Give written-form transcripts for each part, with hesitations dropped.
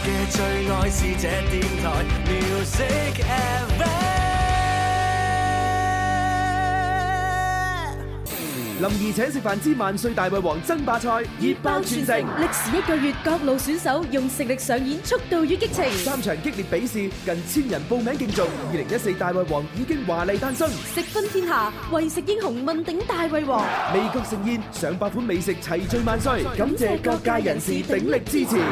嘅最愛是這電台 Music FM。 林兒請食飯之萬歲大胃王爭霸賽熱爆全城， 歷時1個月，各路選手用實力上演速度與激情。 3場激烈比試，近1000人報名競逐。2014大胃王已經華麗誕生， 食分天下，為食英雄問鼎大胃王。 味覺盛宴，上百款美食齊聚萬歲，感謝各界人士鼎力支持。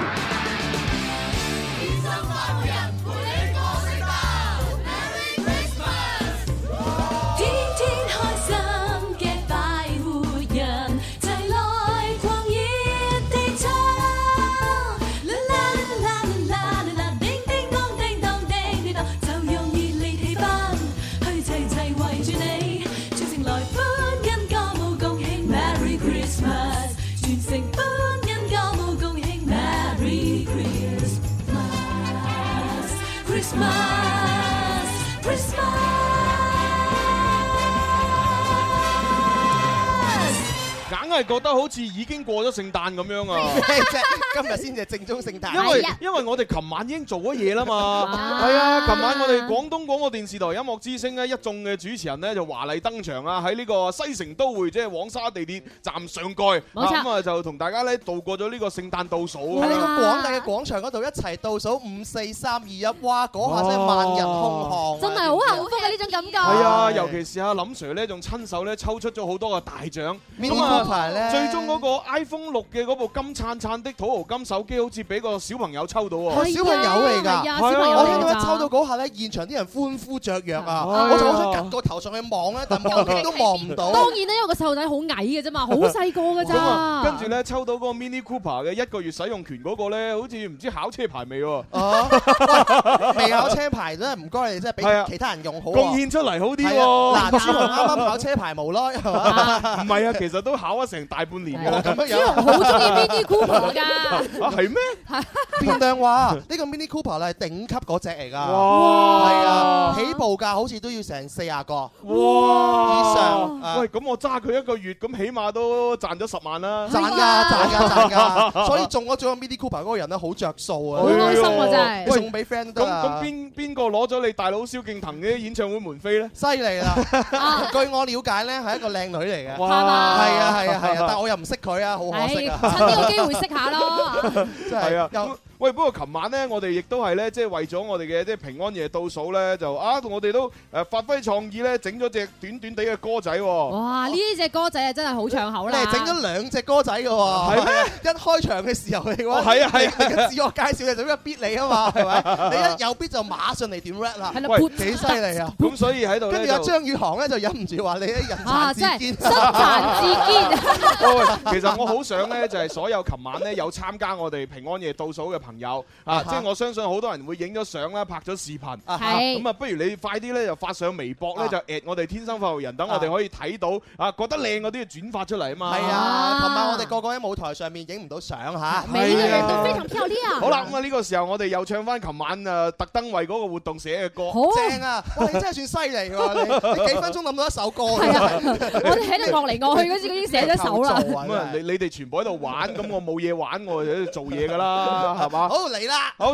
硬係覺得好似已經過咗聖誕咁樣啊！ 今日先至係正宗聖誕， 因為我哋琴晚已經做咗嘢啦嘛。係啊，琴晚我哋廣東廣播電視台音樂之聲咧，一眾嘅主持人咧就華麗登場啊！喺呢個西城都會即係黃沙地鐵站上蓋，咁啊就同大家咧度過咗呢個聖誕倒數。 喺呢個廣大嘅廣場嗰度一齊倒數5、4、3、2、1，哇！嗰下真係萬人空巷， 真係好幸福嘅呢種感覺。 係啊，尤其是阿林 Sir 咧，仲親手咧抽出咗好多嘅大獎。咁啊，最終嗰個 iPhone 6嘅嗰部金燦燦的土豪金手機，好似俾個小朋友抽到喎。 係小朋友嚟㗎，我聽到一抽到嗰下咧，現場啲人歡呼雀躍啊！我就好想趌個頭上去望咧，但望極都望唔到。 當然咧，因為個細路仔好矮嘅啫嘛，好細個㗎咋。 跟住咧抽到嗰個 Mini Cooper 嘅1個月使用權嗰個咧，好似唔知考車牌未喎？ 未考車牌真係唔該你，真係俾其他人用好。 貢獻出嚟好啲喎。 嗱，朱紅啱啱考車牌無耐係嘛？ 唔係啊，其實都考咗成大半年㗎啦。 朱紅好中意 Mini Cooper 㗎。 啊係咩？ 變量話呢個 Mini Cooper 咧係頂級嗰隻嚟㗎。 哇！ 係啊，起步價好似都要成40個。 哇！ 以上。 喂，咁我揸佢1個月，咁起碼都賺咗10萬啦。 賺㗎！所以中咗獎 Mini Cooper 嗰個人咧好着數啊！ 好開心啊！真係。 送俾 friend 都得啊！ 咁邊個攞咗你大佬蕭敬騰嘅演唱會門飛咧？ 犀利啦！據我了解咧，係一個靚女嚟嘅。 係嘛？ 係啊！但我又唔識佢啊，好可惜啊！ 趁呢個機會識下咯。 真係啊！ 喂，不過琴晚咧，我哋亦都係咧，即係為咗我哋嘅即係平安夜倒數咧，就我哋都發揮創意咧，整咗隻短短地嘅歌仔喎。 哇！呢隻歌仔啊，真係好唱口啦！ 你係整咗2隻歌仔嘅喎。 係咩？ 一開場嘅時候嚟嘅話， 係啊！ 自我介紹就咁樣 beat 你啊嘛，係咪？你一有 beat 就馬上嚟點 rap 啦。 係啦， 幾犀利啊！ 咁所以喺度咧， 跟住阿張宇航咧就忍唔住話你啲人殘志堅， 身殘志堅。 其實我好想咧，就係所有琴晚咧有參加我哋平安夜倒數嘅朋友啊。即係我相信好多人會影咗相啦，拍咗視頻。 係。 咁啊，不如你快啲咧，就發上微博咧，就 at 我哋天生快活人，等我哋可以睇到啊，覺得靚嗰啲就轉發出嚟啊嘛。 係啊，琴晚我哋個個喺舞台上面影唔到相嚇。 每個人都非常漂亮。 好啦，咁啊呢個時候我哋又唱翻琴晚特登為嗰個活動寫嘅歌。 好正啊！哇，你真係算犀利喎！你幾分鐘諗到一首歌。 係啊，我哋喺度樂嚟樂去嗰時已經寫咗首啦。 咁啊，你哋全部喺度玩，咁我冇嘢玩，我就喺度做嘢㗎啦，係嘛？ 好嚟啦！ 好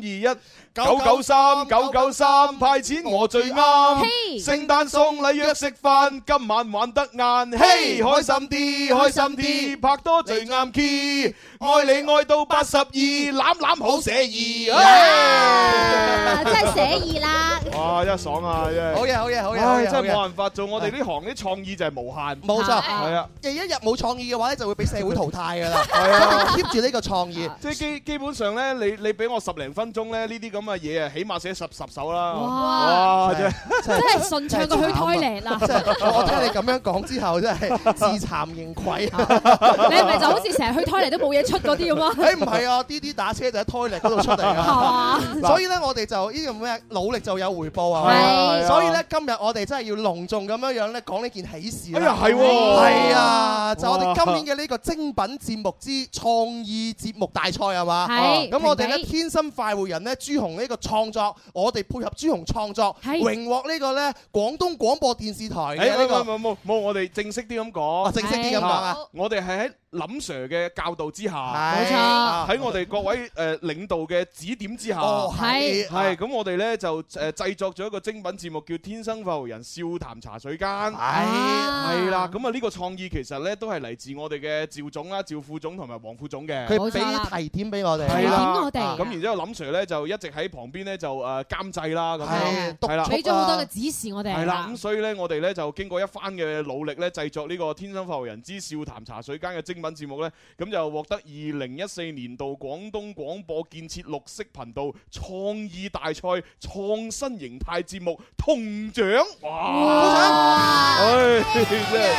，3、2、1。993派錢我最啱，聖誕送禮約食飯，今晚玩得晏，嘿開心啲，拍拖最啱 key，愛你愛到82，攬好寫意， 真係寫意啦！ 哇，真係爽啊！真係好嘢， 真係冇辦法做，我哋呢行啲創意就係無限， 冇錯， 係啊！ 一日冇創意嘅話咧，就會俾社會淘汰㗎啦。係啊，keep 住呢個創意， 即係基本上咧，你俾我10零分鐘咧，呢啲咁嘅嘢啊，起碼寫10首啦。 哇！真係順暢過去toilet啦！ 我聽你咁樣講之後，真係自慚形穢。 你係咪就好似成日去toilet都冇嘢出嗰啲咁啊？ 誒唔係啊，啲打車就喺toilet嗰度出嚟㗎。所以咧，我哋就呢個咩努力就有回報啊！係。所以咧，今日我哋真係要隆重咁樣樣咧講呢件喜事。 哎呀，係喎！ 係啊，就我哋今年嘅呢個精品節目之創意節目大賽係嘛？ 係。 咁我哋咧天生快活人咧朱紅呢個創作，我哋配合朱紅創作，榮獲呢個咧廣東廣播電視台嘅呢個。 冇，我哋正式啲咁講。 正式啲咁講啊！ 我哋係喺林 Sir 嘅教導之下， 冇錯， 喺我哋各位領導嘅指點之下， 係咁我哋咧就製作咗一個精品節目叫《天生快活人笑談茶水間》，係啦，咁啊呢個創意其實咧都係嚟自我哋嘅趙總啦、趙副總同埋黃副總嘅， 佢俾提點俾我哋， 提點我哋， 咁然之後林 Sir 咧就一直喺旁邊咧就監製啦，咁係啦， 俾咗好多嘅指示我哋， 係啦，咁所以咧我哋咧就經過一番嘅努力咧，製作呢個《天生快活人之笑談茶水間》嘅精品節目咧，咁就獲得2014年度廣東廣播建設綠色頻道創意大賽創新形態節目銅獎，哇！真係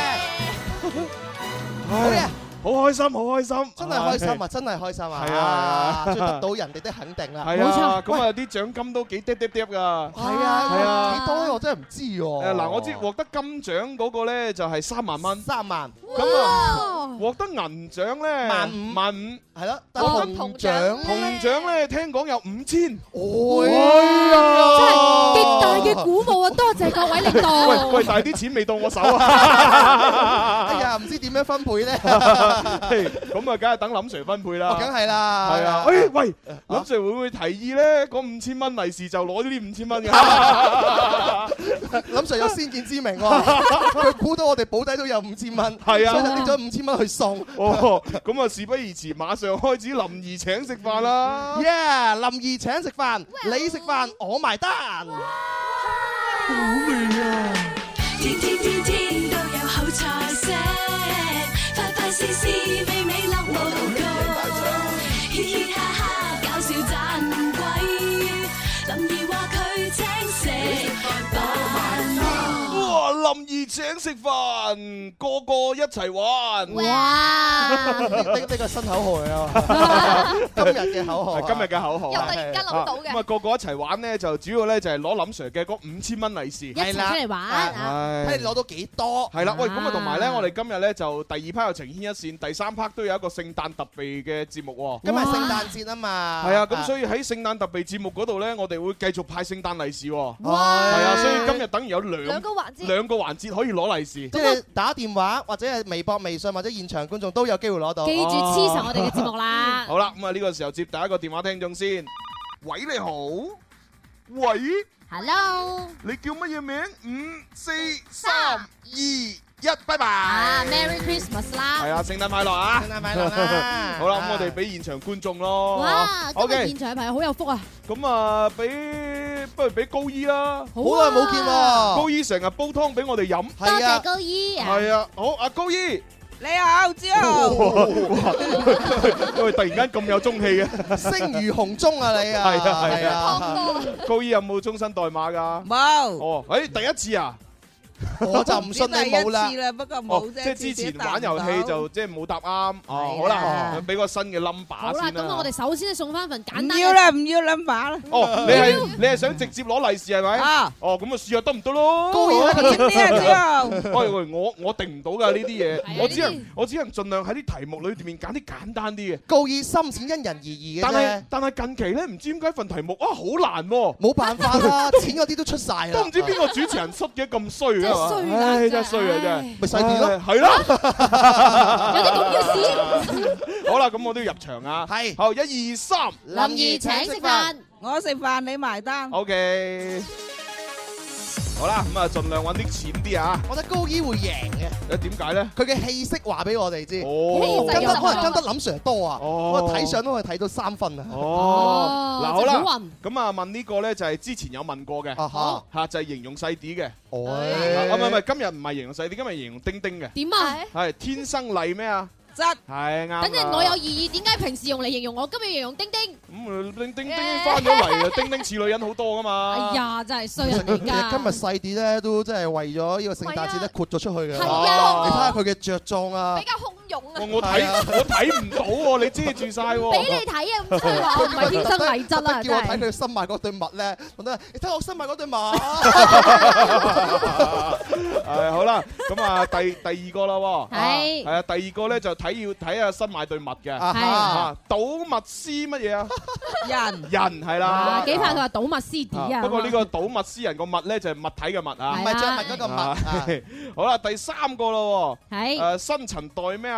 好嘢！好開心，好開心， 真係開心啊！真係開心啊！ 係啊， 終於得到人哋的肯定啦！ 係啊，咁啊啲獎金都幾嗲㗎。係啊，幾多我真係唔知喎。 嗱，我知獲得金獎嗰個咧就係3萬蚊 ，3萬。 咁啊，獲得銀獎咧15000， 係咯。獲得銅獎咧聽講有5000。 真係極大嘅鼓舞啊！多謝各位領導。 喂，但係啲錢未到我手啊！ 哎呀，唔知點樣分配咧？ 咁啊，梗係等林 Sir 分配啦。 梗係啦。 係啊。喂，林 Sir 會唔會提議咧？嗰5000蚊利是就攞呢啲5000蚊㗎？ 林 Sir 有先見之明喎，佢估到我哋保底都有5000蚊， 係啊， 所以就拎咗5000蚊去送。 咁啊，事不宜遲，馬上開始林兒請食飯啦。 林兒請食飯，你食飯我埋單。 好味啊！ 天天天天都有好菜色，快快試試美美樂無窮，嘻嘻哈哈搞笑盞鬼，林兒話佢請食飯。 哇！林兒請食飯，個個一齊玩。 哇！ 呢個新口號嚟啊！今日嘅口號， 今日嘅口號， 又突然間諗到嘅。 咁啊，個個一齊玩咧，就主要咧就係攞林 Sir 嘅嗰5000蚊利是， 一齊出嚟玩， 睇你攞到幾多。 係啦，喂，咁啊，同埋咧，我哋今日咧就第2 part 有情牽一線，第3 part 都有一個聖誕特備嘅節目喎。 今日聖誕節啊嘛。 係啊，咁所以喺聖誕特備節目嗰度咧，我哋會繼續派聖誕利是喎。 哇！ 係啊，所以今日等於有兩個環節可以攞利是， 即係打電話或者係微博、微信或者現場觀眾都有機會攞到。 記住黐實我哋嘅節目啦。 好啦，咁啊呢個時候接第一個電話聽眾先。喂，你好。喂。 Hello。 你叫乜嘢名？5、4、3、2、1，拜拜。 Merry Christmas 啦。 係啊，聖誕快樂啊！ 聖誕快樂啦！ 好啦，咁我哋俾現場觀眾咯。 哇！今日現場嘅朋友好有福啊！ 咁啊，不如俾高姨啦。 好耐冇見喎。 高姨成日煲湯俾我哋飲。 多謝高姨。 係啊，好，阿高姨。 你好，之後。 喂，突然間咁有中氣嘅。 聲如洪鐘啊，你啊。 係啊。高姨有冇終身代碼㗎？ 冇。 哦，第一次啊？ 我就唔信你冇啦。 第一次啦，不過冇啫。 即係之前玩遊戲就即係冇答啱。哦，好啦，俾個新嘅 number 先啦。 好啦，咁我哋首先送翻份簡單。 唔要啦，唔要 number 啦。 哦，你係想直接攞利是係咪？ 啊。 哦，咁啊試下得唔得咯？ 高姨一個啲啊，之後。 喂，我定唔到㗎呢啲嘢，我只能盡量喺啲題目裏面揀啲簡單啲嘅。 高姨深淺因人而異嘅啫。 但係近期咧，唔知點解份題目好難喎。 冇辦法啦，錢嗰啲都出晒啦。 都唔知邊個主持人塞嘅咁衰啊嘛。真係衰啊！真係咪細啲咯， 係咯， 有啲咁嘅事。 好啦，咁我都要入場啊。 係， 好，1、2、3， 林兒請食飯， 我食飯你埋單。 OK。好啦，咁啊，盡量揾啲錢啲啊！ 我覺得高姨會贏嘅。 點解咧？ 佢嘅氣息話俾我哋知。 哦， 跟得林 Sir 多啊！我睇相都可以睇到3分啊！ 哦，嗱好啦，咁啊問呢個咧就係之前有問過嘅，嚇就係形容細啲嘅。哦，唔係，今日唔係形容細啲，今日形容丁丁嘅。 點啊？ 係天生麗咩啊？係啱。 等陣我有異議，點解平時用嚟形容我，今日形容丁丁？ 咁丁丁翻咗嚟啊！丁丁似女人好多噶嘛。 哎呀，真係衰人嚟㗎！ 今日細啲咧，都真係為咗呢個聖誕節咧豁咗出去嘅。 係啊， 你睇下佢嘅着裝啊， 比較洶湧啊！ 我睇唔到喎，你遮住晒喎。 俾你睇啊！咁真係話我唔係天生麗質啊！ 叫我睇佢新買嗰對襪咧，我得你睇我新買嗰對襪。 好啦，咁啊第二個啦喎。 係。 係啊，第二個咧就要睇下新買對襪嘅。 係。 倒物斯乜嘢啊？ 人係啦。 幾快佢話倒物斯啲啊！ 不過呢個倒物斯人個物咧就係物體嘅物啊。 唔係著物嗰個物。 好啦，第3個咯。 係。 新陳代咩啊？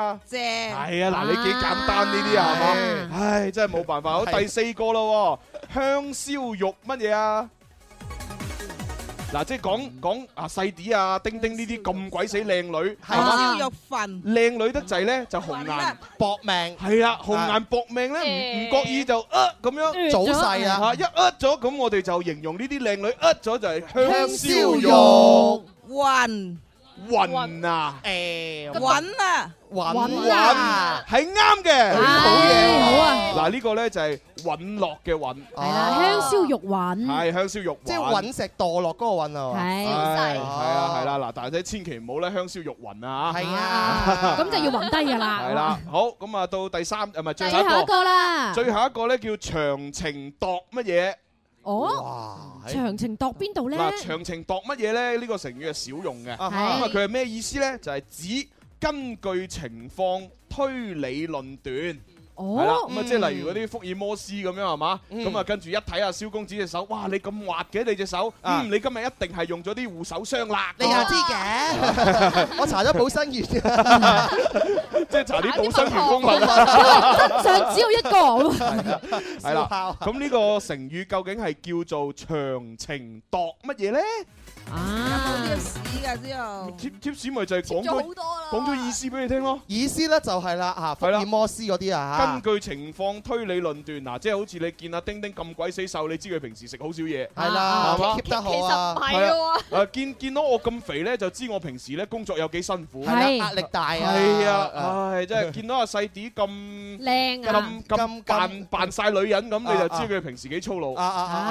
啊？ 謝。 係啊，嗱，你幾簡單呢啲啊，係嘛？唉，真係冇辦法。好，第4個咯，香燒肉乜嘢啊？嗱，即係講啊細啲啊，丁丁呢啲咁鬼死靚女， 係燒肉飯， 靚女得滯咧就紅顏搏命， 係啦，紅顏搏命咧唔覺意就咁樣早逝啊！ 一咗咁，我哋就形容呢啲靚女咗就係香燒肉暈暈啊！ 穩啊！ 穩啊， 係啱嘅， 好嘢，好啊！ 嗱，呢個咧就係隕落嘅隕， 係啦，香燒肉隕， 係香燒肉， 即係隕石墮落嗰個隕啊！ 係啊，係啦，嗱，但係千祈唔好咧香燒肉隕啊！ 係啊， 咁就要暈低㗎啦。 係啦，好，咁啊到第3，唔係最後一個啦， 最後一個咧叫長情度乜嘢？ 哦，長情度邊度咧？ 嗱，長情度乜嘢咧？呢個成語係少用嘅，咁啊佢係咩意思咧？就係指根據情況推理論斷。係啦，咁啊，即係例如嗰啲福爾摩斯咁樣係嘛，咁啊跟住一睇下蕭公子隻手，哇，你咁滑嘅你隻手，你今日一定係用咗啲護手霜啦。 你又知嘅，我搽咗保生元，即係搽啲保生元蜂蜜。 真相只有一個。 係啦，咁呢個成語究竟係叫做長情度乜嘢咧？ 有冇貼士㗎之後？ 貼士咪就係講咗意思俾你聽咯。 意思咧就係啦嚇，福爾摩斯嗰啲啊嚇。 根據情況推理論斷，嗱，即係好似你見阿丁丁咁鬼死瘦，你知佢平時食好少嘢， 係啦， 係嘛 ？keep得好啊。 其實唔係喎。 見到我咁肥咧，就知我平時咧工作有幾辛苦， 係壓力大啊。 係啊，唉，真係見到阿細啲咁靚啊， 咁扮晒女人咁，你就知佢平時幾粗魯。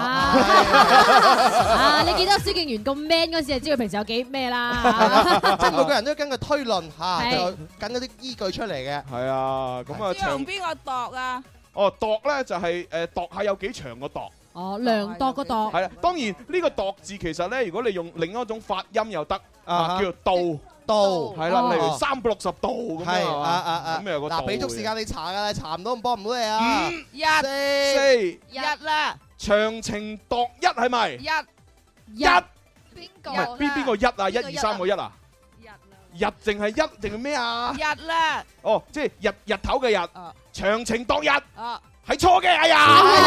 你見到蕭敬元咁 man 嗰時，就知佢平時有幾咩啦。 即係每個人都根據推論嚇，就緊嗰啲依據出嚟嘅。 係啊，咁啊， 用邊個度啊？ 哦，度咧就係度下有幾長個度。 哦，量度個度。 係啦，當然呢個度字其實咧，如果你用另一種發音又得啊，叫做度。 度係啦，例如360度咁樣係嘛，咁有個度。 嗱，俾足時間你查㗎，你查唔到，幫唔到你啊。 5、4、1啦。 長情度一係咪？1邊個？唔係邊個1啊？1、2、3個1啊？日淨係1定係咩啊？ 日啦。 哦，即係日頭嘅日。長情度日。係錯嘅，哎呀！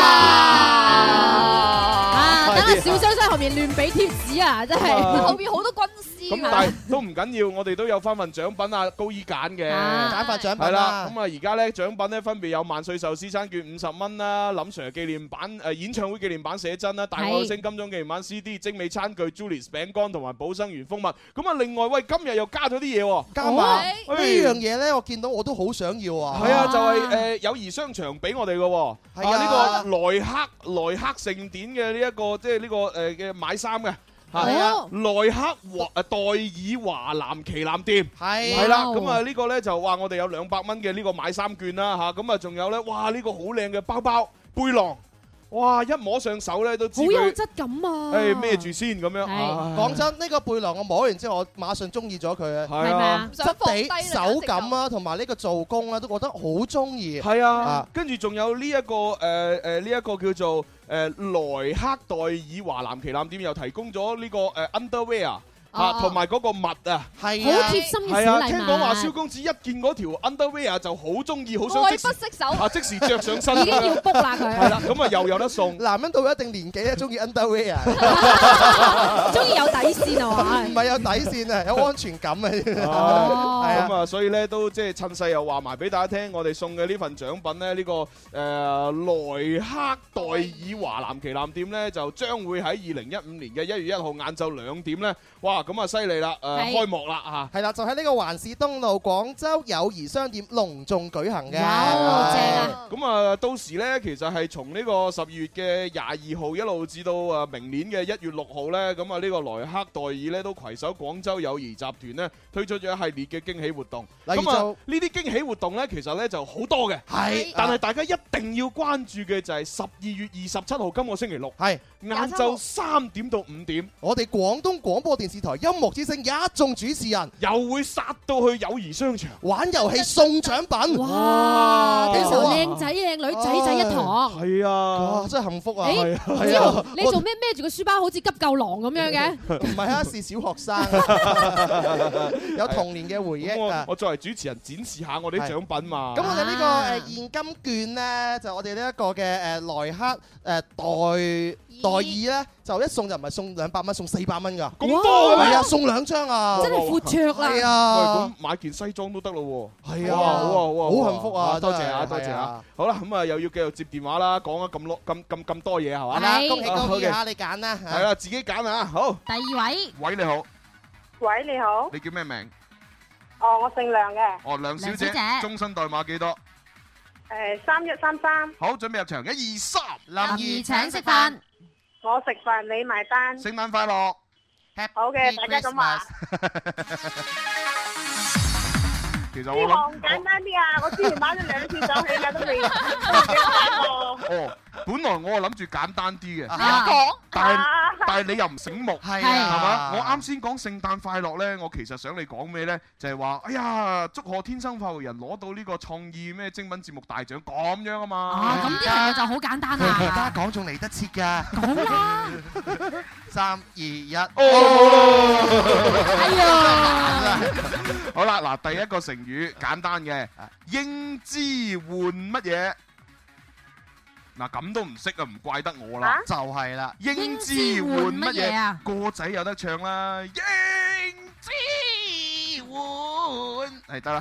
等下小雙雙後面亂俾貼士啊，真係後邊好多軍師。 咁但係都唔緊要，我哋都有翻份獎品啊，高姨揀嘅。 揀份獎品係啦，咁啊而家咧獎品咧分別有萬歲壽司餐券50蚊啦，林 Sir 紀念版演唱會紀念版寫真啦，大愛星金鐘紀念版 CD、精美餐具、Julius 餅乾同埋保生元蜂蜜。咁啊另外喂，今日又加咗啲嘢喎， 加埋呢樣嘢咧，我見到我都好想要啊。 係啊，就係友誼商場俾我哋嘅。係啊，呢個萊克盛典嘅呢一個即係呢個嘅買衫嘅嚇，萊克代爾華南旗艦店係啦，咁啊呢個咧就話我哋有200蚊嘅呢個買衫券啦嚇，咁啊仲有咧哇呢個好靚嘅包包背囊。哇！一摸上手咧都知好有質感啊！ 誒孭住先咁樣。 講真，呢個背囊我摸完之後，我馬上中意咗佢啊！ 係啊， 質地、手感啊，同埋呢個做工啊，都覺得好中意。 係啊，跟住仲有呢一個呢一個叫做萊克代爾華南旗艦店又提供咗呢個underwear。同埋嗰個襪啊， 係好貼心嘅小禮物。 聽講話蕭公子一見嗰條 underwear 就好中意，好想愛不釋手， 即時着上身。 已經要 book 啦佢。 係啦，咁啊又有得送。 男人到一定年紀咧，中意 underwear， 中意有底線啊嘛。 唔係有底線啊，有安全感啊。 咁啊，所以咧都即係趁勢又話埋俾大家聽，我哋送嘅呢份獎品咧，呢個萊克代爾華南旗艦店咧，就將會喺2015年嘅1月1號晏晝2點咧，哇！咁啊犀利啦，開幕啦嚇！ 係啦，就喺呢個環市東路廣州友誼商店隆重舉行嘅。 正啊！ 咁啊，到時咧其實係從呢個12月嘅22號一路至到明年嘅1月6號咧，咁啊呢個萊克代爾咧都攜手廣州友誼集團咧推出咗一系列嘅驚喜活動。咁啊呢啲驚喜活動咧其實咧就好多嘅，係，但係大家一定要關注嘅就係12月27號今個星期六，係晏晝3點到5點， 我哋廣東廣播電視台台音樂之聲一眾主持人又會殺到去友誼商場玩遊戲送獎品。 哇！到時候靚仔靚女仔仔一堂。 係啊， 哇！真係幸福啊！ 係啊，你做咩孭住個書包好似急救狼咁樣嘅？ 唔係啊，是小學生，有童年嘅回憶啊！ 我作為主持人展示下我哋啲獎品嘛。 咁我哋呢個現金券咧，就我哋呢一個嘅萊克代爾咧，就一送就唔係送200蚊，送400蚊㗎。 咁多嘅咩？ 係啊，送2張啊！ 真係闊綽啦。 係啊， 喂，咁買件西裝都得咯喎。 係啊， 好啊，好啊， 好幸福啊！ 多謝啊，多謝啊！好啦，咁啊又要繼續接電話啦，講咗咁多嘢係嘛？ 係啦，恭喜恭喜嚇，你揀啦。 係啦，自己揀啊！好。 第2位。 喂，你好。 喂，你好。 你叫咩名？ 哦，我姓梁嘅。 哦，梁小姐，終身代碼幾多 ？3133。 好，準備入場，1、2、3。 林怡請食飯。 我食飯你埋單。 聖誕快樂。 好嘅，大家咁話。 其實我諗簡單啲啊！我之前買咗2次上去啦，都未買過。 哦，本來我諗住簡單啲嘅， 講， 但係你又唔醒目，係嘛？我啱先講聖誕快樂咧，我其實想你講咩咧？就係話，哎呀，祝賀天生快活人攞到呢個創意咩精品節目大獎咁樣啊嘛！ 啊，咁呢樣嘢就好簡單啦。 而家講仲嚟得切㗎。 講啦。 3、2、1。 哎呀！ 好啦，嗱，第一個成語簡單嘅，英姿換乜嘢？嗱，咁都唔識啊，唔怪得我啦，就係啦。英姿換乜嘢啊？歌仔有得唱啦，英姿換係得啦。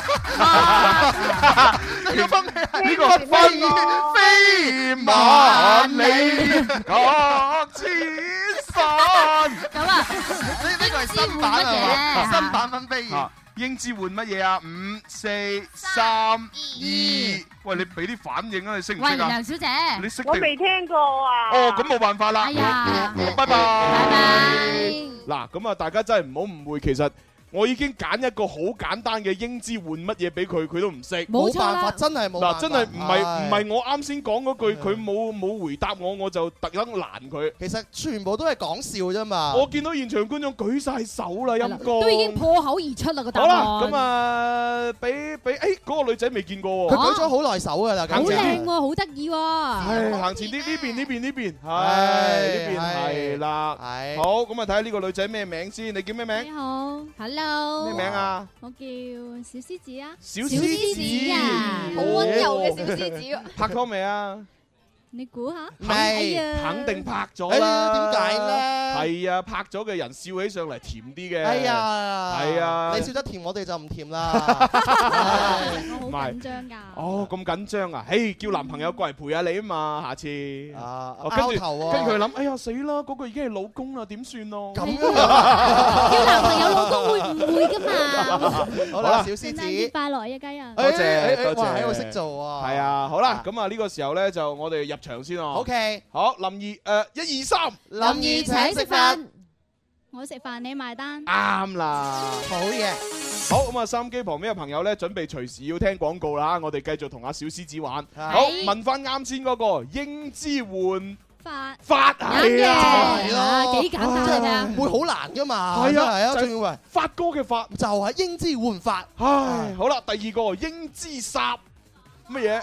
呢個飛萬里各千山。咁啊，呢個係新版係嘛？新版分飛。英姿換乜嘢啊？5、4、3、2，喂，你俾啲反應啊！你識唔識啊？喂， 梁小姐， 你識？ 我未聽過啊。 哦，咁冇辦法啦。 哎呀， 拜拜。 拜拜。 嗱，咁啊，大家真係唔好誤會，其實我已經揀一個好簡單嘅英姿換乜嘢俾佢，佢都唔識。 冇辦法，真係冇辦法。 嗱，真係唔係我啱先講嗰句，佢冇回答我就特登攔佢。 其實全部都係講笑啫嘛。 我見到現場觀眾舉晒手啦，陰公。 都已經破口而出啦個答案。 好啦，咁啊，俾嗰個女仔未見過喎。 佢舉咗好耐手㗎啦， 好靚喎，好得意喎。 係行前啲，呢邊，係呢邊係啦。係。好，咁啊睇下呢個女仔咩名先？你叫咩名？ 你好，Hello。 咩名啊？ 我叫小獅子啊。 小獅子啊， 好溫柔嘅小獅子。 拍拖未啊？ 你估下？ 肯定拍咗啦。 點解咧？ 係啊，拍咗嘅人笑起上嚟甜啲嘅。 哎呀， 係啊， 你笑得甜，我哋就唔甜啦。 我好緊張㗎。 哦，咁緊張啊！嘿，叫男朋友過嚟陪下你啊嘛，下次。 拗頭啊！ 跟住佢諗，哎呀死啦，嗰個已經係老公啦，點算咯？ 咁叫男朋友老公會唔會㗎嘛？ 好啦，小獅子， 聖誕節快樂，一家人。 多謝， 哇，喺度識做啊！ 係啊，好啦，咁啊呢個時候咧就我哋入場先咯。 OK， 好，林怡，1、2、3， 林怡請食飯， 我食飯你埋單。 啱啦， 好嘢。 好，咁啊，收音機旁邊嘅朋友咧，準備隨時要聽廣告啦。我哋繼續同阿小獅子玩。好，問翻啱先嗰個英姿換發係啊，幾簡單㗎， 會好難㗎嘛？ 係啊， 仲要喂發哥嘅發就係英姿換發。 唉，好啦，第二個英姿殺乜嘢？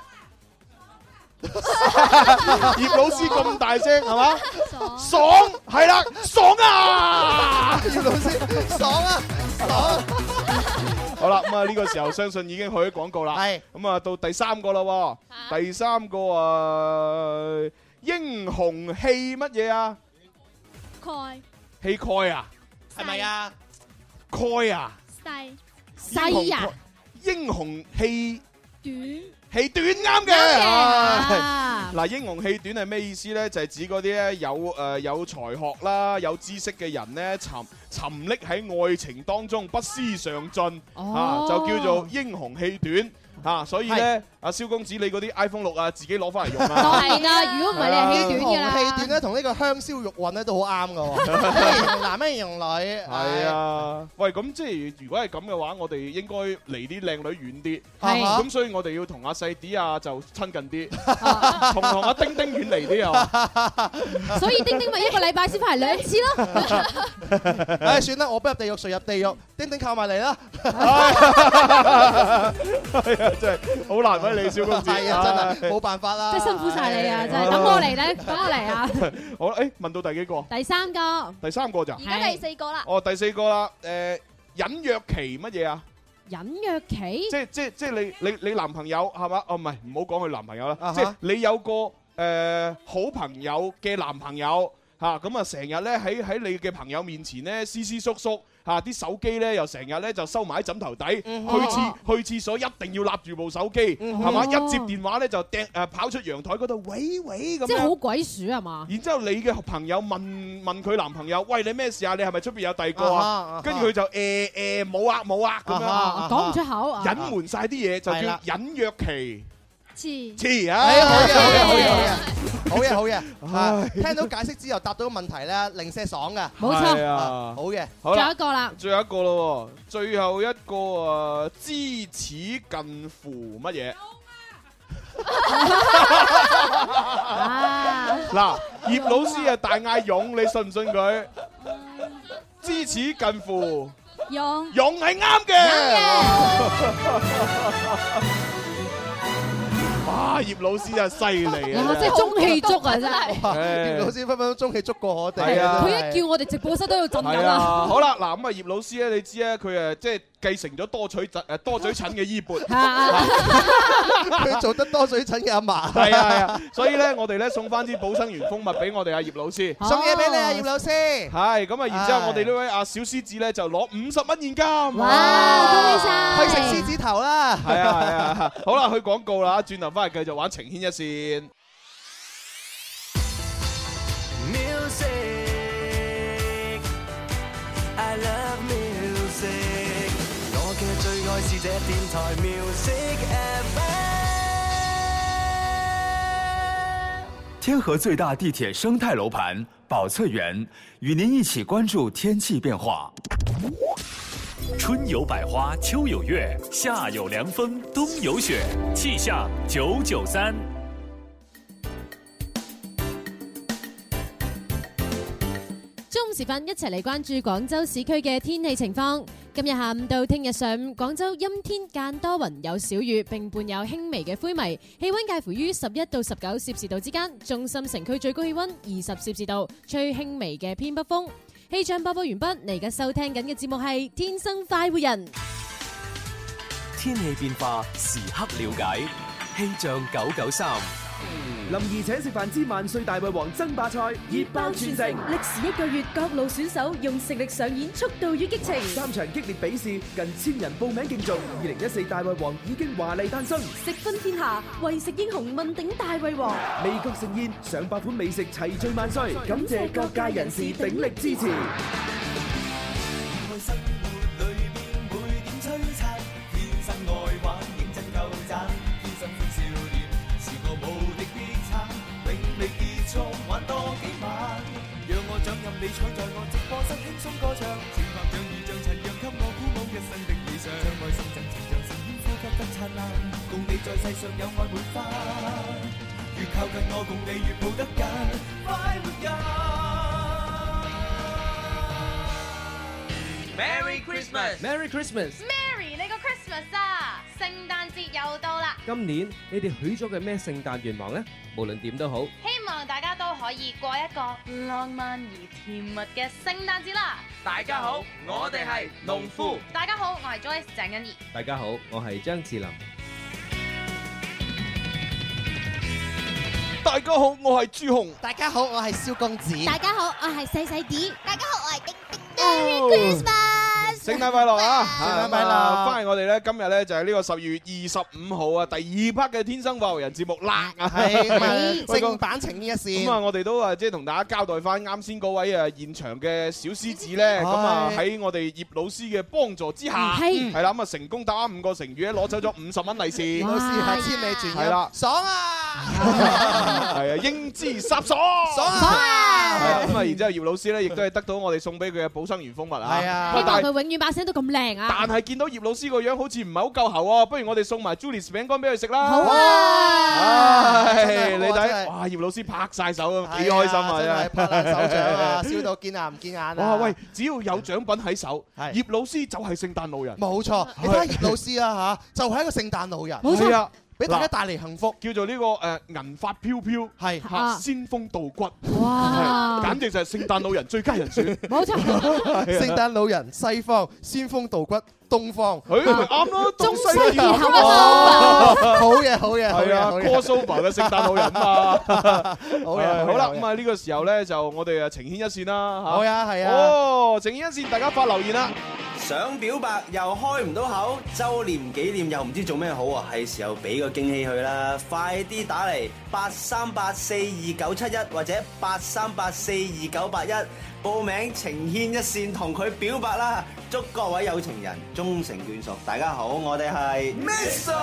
葉老師咁大聲係嘛？爽係啦，爽啊！ 葉老師爽啊，爽！ 好啦，咁啊呢個時候相信已經去咗廣告啦。係咁啊，到第三個啦。第三個啊，英雄氣乜嘢啊？ 蓋氣概啊？ 係咪啊？ 蓋啊？ 細啊？ 英雄氣短。 氣短啱嘅，嗱，英雄氣短係咩意思咧？就係指嗰啲咧有才學啦、有知識嘅人咧，沉溺喺愛情當中不思上進，就叫做英雄氣短。 嚇，所以咧，阿蕭公子你嗰啲 iPhone 6啊，自己攞翻嚟用啦。 當然啦，如果唔係你係氣短㗎啦。 氣短咧，同呢個香燒玉韻咧都好啱㗎喎。形容男咩形容女？ 係啊，喂，咁即係如果係咁嘅話，我哋應該離啲靚女遠啲。 係。 咁所以我哋要同阿細啲啊就親近啲，同阿丁丁遠離啲啊。 所以丁丁咪一個禮拜先翻嚟2次咯。 唉，算啦，我不入地獄誰入地獄？丁丁靠埋嚟啦。 係啊，真係好難為你，小公子。 係啊，真係冇辦法啦。 真係辛苦晒你啊！真係等我嚟咧，等我嚟啊！ 好啦，問到第幾個？ 第3個。 第3個咋？ 而家第4個啦。 哦，第4個啦。隱約期乜嘢啊？ 隱約期？ 即係你男朋友係嘛？哦，唔係，唔好講佢男朋友啦。即係你有個好朋友嘅男朋友嚇，咁啊成日咧喺你嘅朋友面前咧斯斯縮縮。嚇啲手機咧又成日咧就收埋喺枕頭底，去廁所一定要揦住部手機，係嘛？一接電話咧就跑出陽台嗰度，喂咁。 即係好鬼鼠係嘛？ 然之後你嘅朋友問佢男朋友：喂，你咩事啊？你係咪出邊有第二個啊？跟住佢就冇啊咁樣， 講唔出口， 隱瞞晒啲嘢就叫隱約期。 黐啊！ 好嘢！聽到解釋之後答到個問題咧，零舍爽㗎。 冇錯。 好嘅。 好啦， 最後一個啦。 最後一個咯，最後一個啊，知恥近乎乜嘢？嗱，葉老師啊，大嗌勇，你信唔信佢？知恥近乎勇係啱嘅。哇！葉老師真係犀利啊！ 即係中氣足啊！真係。 葉老師分分鐘中氣足過我哋。 係啊！佢一叫我哋直播室都要震緊啊！ 啊！ 好啦，嗱咁啊，葉老師咧，你知咧，佢即係繼承咗多嘴診嘅衣缽。 佢做得多嘴診嘅阿嫲。 係啊，所以咧，我哋咧送翻啲寶生源蜂蜜俾我哋阿葉老師。 送嘢俾你啊，葉老師。 係咁啊，然之後我哋呢位阿小獅子咧就攞50蚊現金。 哇！恭喜晒！ 去食獅子頭啦。 係啊，好啦，去廣告啦，轉頭翻嚟繼續玩情牽一線。 I love music， 我嘅最愛是這電台 Music FM。 天河最大地鐵生態樓盤寶翠園，與您一起關注天氣變化。 春有百花，秋有月，夏有涼風，冬有雪，氣象993。 中午時分，一齊嚟關注廣州市區嘅天氣情況。今日下午到聽日上午，廣州陰天間多雲，有小雨，並伴有輕微嘅灰霾，氣溫介乎於11到19攝氏度之間。中心城區最高氣溫20攝氏度，吹輕微嘅偏北風。氣象播報完畢，你而家收聽緊嘅節目係《天生快活人》。 天氣變化時刻了解，氣象993。 林兒請食飯之萬歲大胃王爭霸賽熱爆全城， 歷時1個月，各路選手用實力上演速度與激情。 3場激烈比試，近1000人報名競逐。2014大胃王已經華麗誕生， 食分天下，為食英雄問鼎大胃王。 味覺盛宴，上百款美食齊聚萬歲，感謝各界人士鼎力支持。 你坐在我直播室輕鬆歌唱，情拍像雨像塵揚給我鼓舞一生的理想，將愛送贈情像盛煙呼吸得燦爛，共你在世上有愛滿花，越靠近我共你越抱得緊，快活人。Merry Christmas，Merry Christmas，Merry 你個 Christmas 啊！聖誕節又到啦！ 今年你哋許咗嘅咩聖誕願望呢？無論點都好， 希望大家都可以過一個浪漫而甜蜜嘅聖誕節啦！ 大家好，我哋係農夫。 大家好，我係 Joyce 鄭欣宜。 大家好，我係張智霖。 大家好，我係朱紅。 大家好，我係蕭公子。 大家好，我係細細啲。 大家好，我係丁丁。 Merry Christmas！ 聖誕快樂啊！ 聖誕快樂！ 翻嚟我哋咧，今日咧就係呢個12月25號啊，第2 part 嘅天生快活人節目啦。 係正版情牽一線。 咁啊，我哋都即係同大家交代翻啱先嗰位現場嘅小獅子咧，咁啊喺我哋葉老師嘅幫助之下，係啦，咁啊成功答啱5個成語咧，攞走咗50蚊利是。 葉老師係千里傳音， 係啦， 爽啊！ 係啊，英姿颯爽， 爽啊！ 咁啊，然之後葉老師咧，亦都係得到我哋送俾佢嘅寶生園蜂蜜啊。 係啊， 希望佢永遠把聲都咁靚啊！ 但係見到葉老師個樣好似唔係好夠喉喎，不如我哋送埋 Julius 餅乾俾佢食啦。 好啊！ 你睇，哇！葉老師拍晒手啊，幾開心啊！真係拍爛手掌啊，笑到見眼唔見眼啊！ 哇！喂，只要有獎品喺手，葉老師就係聖誕老人。 冇錯，你睇下葉老師啊嚇，就係一個聖誕老人。 冇錯啊！ 俾大家帶嚟幸福， 叫做呢個銀髮飄飄，係嚇仙風道骨， 哇！ 簡直就係聖誕老人最佳人選。 冇錯， 聖誕老人西方，仙風道骨東方， 咪啱咯， 中西結合啊！好嘢，好嘢， 係啊 ，crossover 嘅聖誕老人嘛， 好嘢， 好啦，咁啊呢個時候咧就我哋情牽一線啦嚇。 好呀，係啊。 哦，情牽一線，大家發留言啦。 想表白又開唔到口，周年紀念又唔知做咩好啊！係時候俾個驚喜佢啦，快啲打嚟8384291或者8384291報名情牽一線同佢表白啦！祝各位有情人終成眷屬。大家好，我哋係 Mr.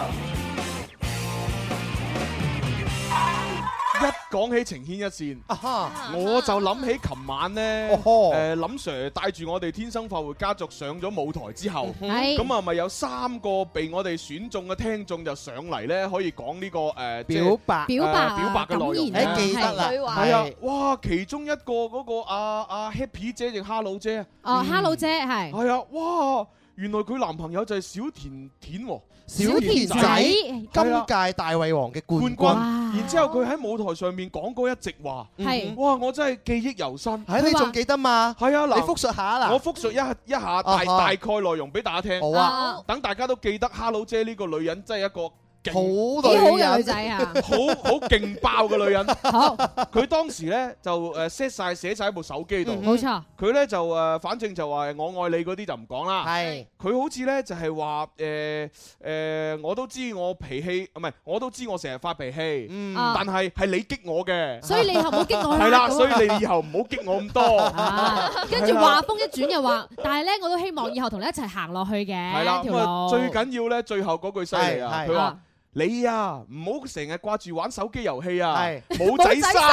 一講起情牽一線，我就諗起琴晚咧，林 Sir 帶住我哋天生快活家族上咗舞台之後，咁啊咪有3個被我哋選中嘅聽眾就上嚟咧，可以講呢個表白嘅內容。 誒記得啦， 係啊，哇！其中一個嗰個阿 Happy 姐定 Hello 姐啊，Hello 姐係啊，哇！原來佢男朋友就係小甜甜喎。 小田仔今屆大胃王嘅冠軍， 然之後佢喺舞台上面講過一席話，哇！我真係記憶猶新。 係你仲記得嘛？ 係啊，嗱， 你複述下啦。 我複述一下大概內容俾大家聽。 好啊， 等大家都記得 Hello 姐呢個女人真係一個好女仔啊， 好勁爆嘅女人。好，佢當時咧就寫晒喺部手機度。 冇錯。 佢咧就反正就話我愛你嗰啲就唔講啦。 係。 佢好似咧就係話我都知我脾氣，唔係我都知我成日發脾氣。但係你激我嘅。 所以你以後唔好激我啦。 係啦，所以你以後唔好激我咁多。 跟住話風一轉又話，但係咧我都希望以後同你一齊行落去嘅。係啦，咁啊最緊要咧最後嗰句犀利啊！佢話。你啊，唔好成日掛住玩手機遊戲啊，冇仔生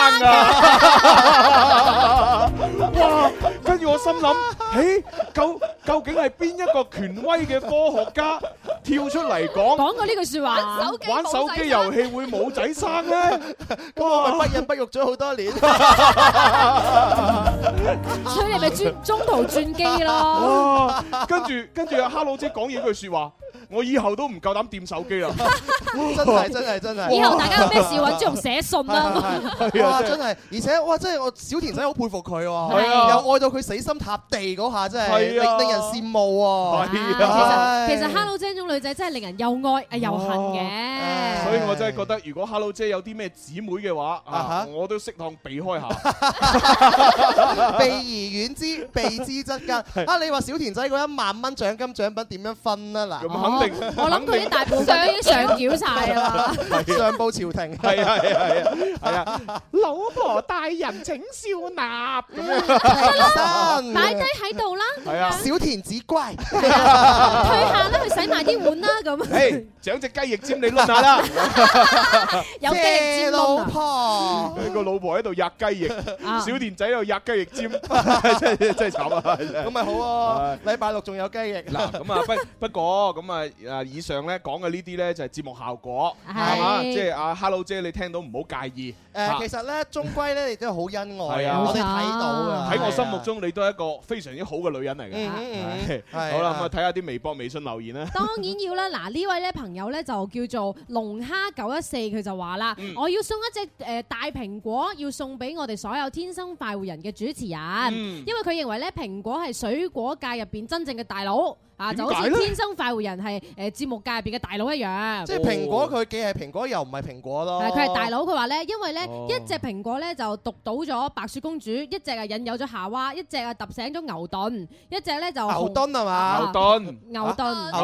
啊！哇！跟住我心諗，究竟係邊一個權威嘅科學家跳出嚟講過呢句説話？ 玩手機遊戲會冇仔生咧？ 咁我咪不孕不育咗好多年， 所以你咪中途轉機咯。 哇！跟住阿 Hello 姐講嘢句説話。我以後都唔夠膽掂手機啦！ 真係。 以後大家有咩事揾朱紅寫信啦。 哇！真係，而且哇，真係我小田仔好佩服佢喎，又愛到佢死心塌地嗰下，真係令人羨慕喎。 其實 Hello 姐呢種女仔真係令人又愛又恨嘅。 所以我真係覺得，如果 Hello 姐有啲咩姊妹嘅話，我都適當避開下。 避而遠之，避之則吉。你話小田仔嗰1萬蚊獎品點樣分啊？嗱。 我諗佢啲大部分都已經上繳晒啦， 上報朝廷。 係啊！老婆大人請笑納咁樣，擺低喺度啦。 係啊， 小田子乖， 退下啦，去洗埋啲碗啦咁。 獎隻雞翼尖你攆下啦， 有雞翼尖老婆， 佢個老婆喺度吔雞翼，小田仔喺度吔雞翼尖，真係慘啊！ 咁咪好喎，禮拜6仲有雞翼。 嗱，咁啊不過咁啊以上咧講嘅呢啲咧就係節目效果，係嘛？即係阿 Hello 姐你聽到唔好介意。 其實咧終歸咧你都係好恩愛啊，我哋睇到㗎。 喺我心目中你都係一個非常之好嘅女人嚟嘅。好啦，咁啊睇下啲微博、微信留言啦。 當然要啦，嗱呢位咧朋友咧就叫做龍蝦914，佢就話啦：我要送一隻大蘋果，要送俾我哋所有天生快活人嘅主持人，因為佢認為咧蘋果係水果界入邊真正嘅大佬。 啊，就好似天生快活人係節目界入邊嘅大佬一樣。 即係蘋果佢既係蘋果又唔係蘋果咯。 佢係大佬，佢話咧，因為咧一隻蘋果咧就毒倒咗白雪公主，一隻啊引誘咗夏娃，一隻啊揼醒咗牛頓，一隻咧就牛頓係嘛？ 牛頓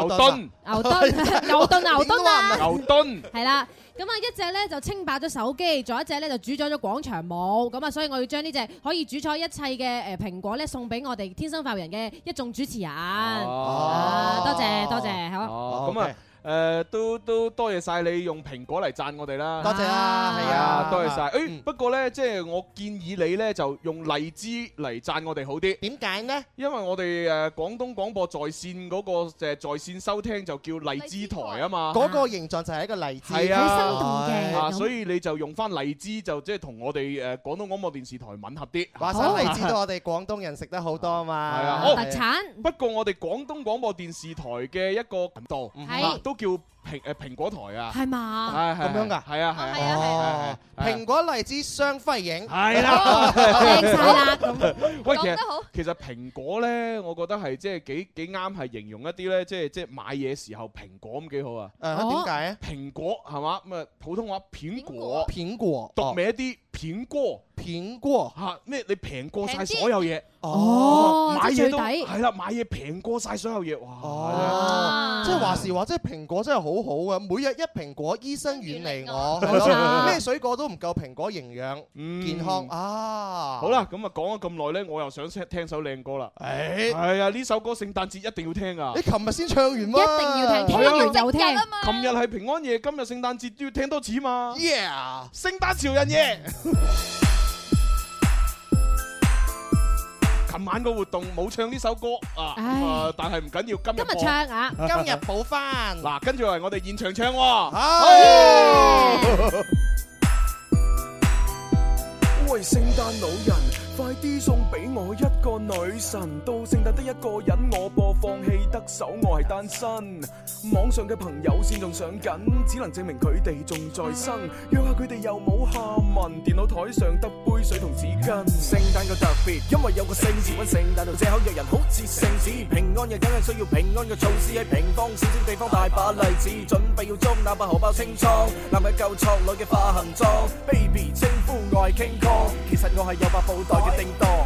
啊！ 牛頓係啦。咁啊，一隻咧就稱霸咗手機，仲有一隻咧就主宰咗廣場舞。咁啊，所以我要將呢隻可以主宰一切嘅蘋果咧送俾我哋天生快活人嘅一眾主持人。多謝，好。 咁啊。都多謝晒你用蘋果嚟讚我哋啦， 多謝啦，係啊， 多謝晒。不過呢，即係我建議你呢，就用荔枝嚟讚我哋好啲。 點解呢？因為我哋廣東廣播在線嗰個在線收聽就叫荔枝台啊嘛。 嗰個形狀就係一個荔枝， 係啊， 好生動嘅。 所以你就用翻荔枝，就即係同我哋廣東廣播電視台吻合啲。 話晒荔枝都我哋廣東人食得好多嘛。 係啊， 特產。 不過我哋廣東廣播電視台嘅一個頻道都叫蘋果台啊， 係嘛？ 咁樣㗎？ 係啊， 蘋果荔枝雙輝映， 係啦， 靚晒啦咁。 喂，其實蘋果咧，我覺得係即係幾啱，係形容一啲咧，即係買嘢時候蘋果咁幾好啊。 點解啊？ 蘋果係嘛？咁啊普通話蘋果，讀名一啲蘋果嚇咩？你平過晒所有嘢。買嘢都係啦，買嘢平過晒所有嘢，哇！ 即係話時話，即係蘋果真係好好嘅，每日一蘋果，醫生遠離我。咩水果都唔夠蘋果營養健康啊！ 好啦，咁啊講咗咁耐咧，我又想聽首靚歌啦。係啊，呢首歌聖誕節一定要聽啊！ 你琴日先唱完嘛？ 一定要聽，聽完又聽。 琴日係平安夜，今日聖誕節都要聽多次嘛。 Yeah！ 聖誕潮人夜。琴晚個活動冇唱呢首歌啊，但係唔緊要，今日唱啊， 今日補翻。 嗱，跟住嚟我哋現場唱喎。 喂，聖誕老人，快啲送俾我一個女神。到聖誕得一個人，我播放器得手，我係單身。網上嘅朋友線仲上緊，只能證明佢哋仲在生。約下佢哋又冇下文，電腦台上得杯水同紙巾。聖誕個特別，因為有個聖字，揾聖誕度借口約人好似聖子。平安夜梗係需要平安嘅措施，喺平方少少地方大把例子，準備要裝哪把荷包清倉，男嘅夠錯，女嘅化行裝。Baby 稱呼我係 King Kong，其實我係有把布袋嘅叮當。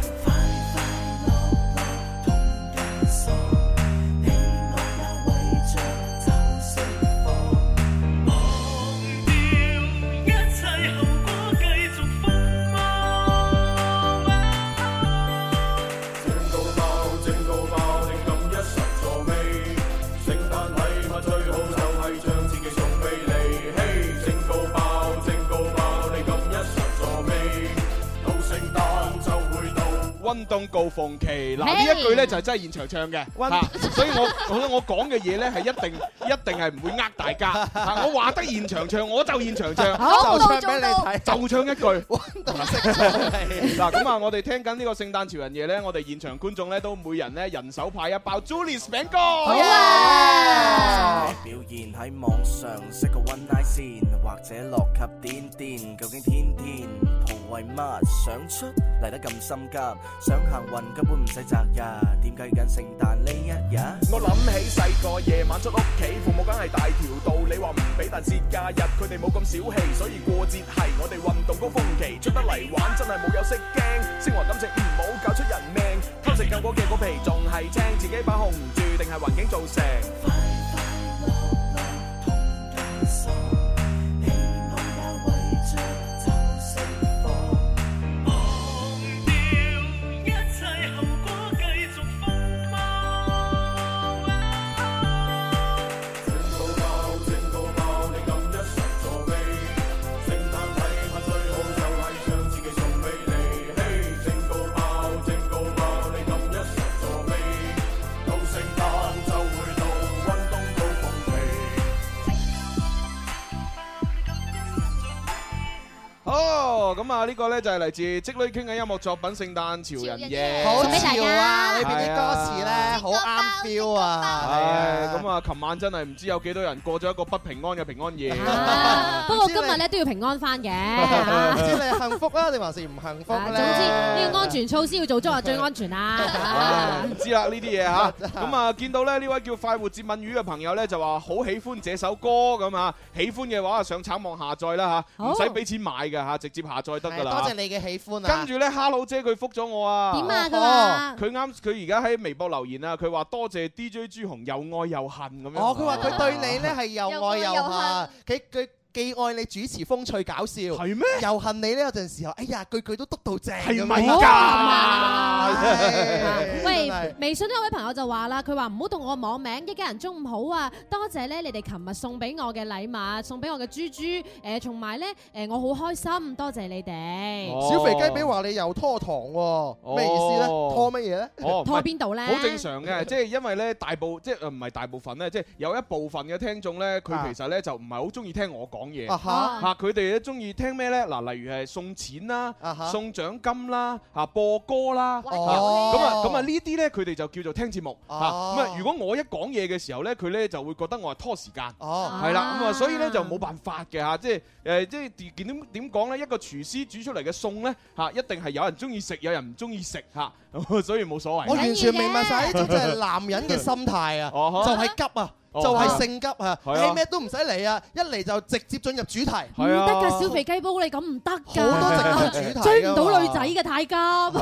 溫冬告鳳旗，嗱呢一句咧就係真係現場唱嘅，所以我講嘅嘢咧係一定係唔會呃大家。我話得現場唱，我就現場唱， 就唱俾你睇， 就唱一句。 溫冬識唱。 嗱咁啊，我哋聽緊呢個聖誕潮人夜咧，我哋現場觀眾咧都每人咧人手派一包 Julius 餅乾。好啊！ 表現喺網上識個 one night 先，或者落級癲癲，究竟天天圖為乜？想出嚟得咁心急？想行運根本唔使擇日，點解緊聖誕呢一日？ 我諗起細個夜晚出屋企，父母梗係大條道理話唔俾，但節假日佢哋冇咁小氣，所以過節係我哋運動高峰期，出得嚟玩真係冇有識驚，星華感情唔好搞出人命，偷食夠果嘅果皮仲係青，自己把控唔住定係環境造成？快快樂樂同計數，希望也為着就釋放。 好，咁啊呢個咧就係嚟自積女傾嘅音樂作品《聖誕潮人夜》， 好潮啊！裏邊啲歌詞咧好啱 feel 啊！ 係咁啊，琴晚真係唔知有幾多人過咗一個不平安嘅平安夜。 不過今日咧都要平安翻嘅。 唔知你係幸福啊，定還是唔幸福咧？ 總之呢個安全措施要做足係最安全啦。 唔知啦呢啲嘢嚇。咁啊見到咧呢位叫快活接吻魚嘅朋友咧就話好喜歡這首歌咁啊，喜歡嘅話上橙網下載啦嚇，唔使俾錢買嘅嚇，直接下載得㗎啦。 多謝你嘅喜歡啊！ 跟住咧，Hello 姐佢覆咗我啊。 點啊？佢話佢而家喺微博留言啊，佢話多謝 DJ 朱紅又愛又恨咁樣。 哦，佢話佢對你咧係又愛又恨，佢既愛你主持風趣搞笑，係咩？又恨你呢有陣時候，哎呀句句都篤到正，係咪㗎？ 喂，微信呢有位朋友就話啦，佢話唔好讀我網名，一家人中午好啊！多謝咧你哋琴日送俾我嘅禮物，送俾我嘅豬豬，同埋咧我好開心，多謝你哋。 小肥雞髀話你又拖堂喎，咩意思咧？拖乜嘢咧？ 拖邊度咧？ 好正常嘅，即係因為咧唔係大部分咧，即係有一部分嘅聽眾咧，佢其實咧就唔係好中意聽我講嘢嚇，佢哋咧中意聽咩咧？嗱，例如係送錢啦、送獎金啦、播歌啦，咁啊呢啲咧佢哋就叫做聽節目嚇。咁啊，如果我一講嘢嘅時候咧，佢咧就會覺得我係拖時間，係啦，咁啊，所以咧就冇辦法嘅嚇，即係點講咧？一個廚師煮出嚟嘅餸咧嚇，一定係有人中意食，有人唔中意食嚇，所以冇所謂。 我完全明白晒呢種就係男人嘅心態啊，就係急啊！就係性急啊！你咩都唔使嚟啊，一嚟就直接進入主題。 唔得㗎，小肥雞煲你咁唔得㗎。 好多直入主題， 追唔到女仔嘅太急。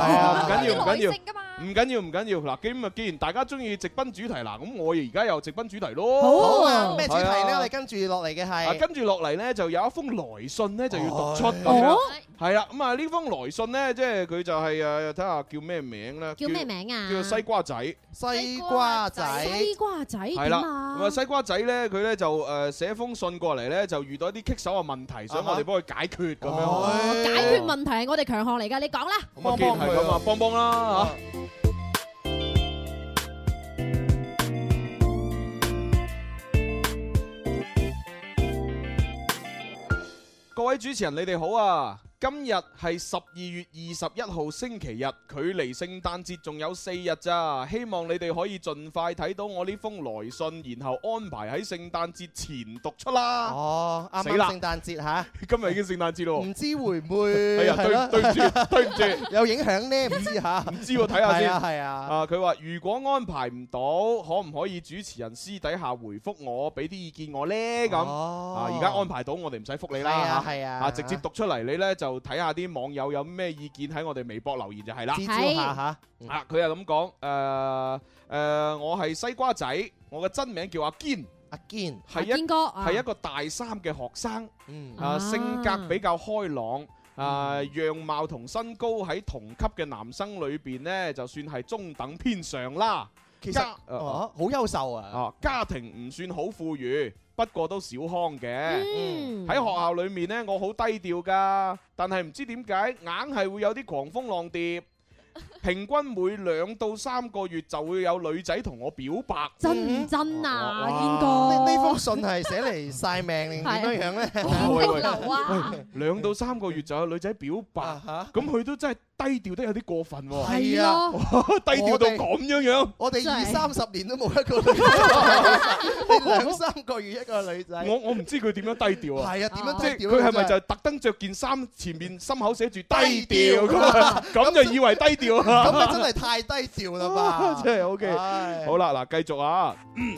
唔緊要。嗱，既然大家中意直奔主題，嗱，咁我而家又直奔主題咯。 好啊，咩主題咧？我哋跟住落嚟嘅係。 跟住落嚟咧，就有一封來信咧，就要讀出咁樣。係啦，咁啊呢封來信咧，即係佢就係睇下叫咩名咧？ 叫咩名啊？ 叫做西瓜仔。 西瓜仔。 係啦。咁啊西瓜仔咧，佢咧就寫封信過嚟咧，就遇到一啲棘手嘅問題，想我哋幫佢解決咁樣。 解決問題係我哋強項嚟㗎，你講啦。 咁啊，既然係咁啊，幫啦嚇。各位主持人，你哋好啊！今日係12月21號星期日，距離聖誕節仲有4日咋，希望你哋可以盡快睇到我呢封來信，然後安排喺聖誕節前讀出啦。 哦，啱啱聖誕節嚇， 今日已經聖誕節咯，唔知會唔會？ 哎呀，對唔住， 有影響呢？唔知嚇， 唔知喎，睇下先。 係啊。 佢話如果安排唔到，可唔可以主持人私底下回覆我，俾啲意見我呢？咁而家安排到，我哋唔使覆你啦。 係啊， 直接讀出嚟，你呢就睇下啲網友有咩意見喺我哋微博留言就係啦。 指招下嚇。 佢係咁講，我係西瓜仔，我嘅真名叫阿堅。 阿堅係一個大3嘅學生。性格比較開朗。樣貌同身高喺同級嘅男生裏邊呢，就算係中等偏上啦。 其實好優秀啊！ 家庭唔算好富裕，不過都小康嘅。喺學校裏面呢，我好低調㗎，但係唔知點解硬係會有啲狂蜂浪蝶。平均每2到3個月就會有女仔同我表白。 真唔真啊？堅哥， 呢封信係寫嚟晒命定點樣樣咧 ？2到3個月就有女仔表白，咁佢都真係低調得有啲過分喎。 係啊， 低調到咁樣。 我哋20-30年都冇一個女仔，2-3個月一個女仔。 我唔知佢點樣低調啊。 係啊，點樣低調？ 佢係咪就特登着件衫，前面心口寫住低調咁就以為低調？ 咁你真係太低調啦吧！ 真係 OK。好啦，嗱，繼續啊。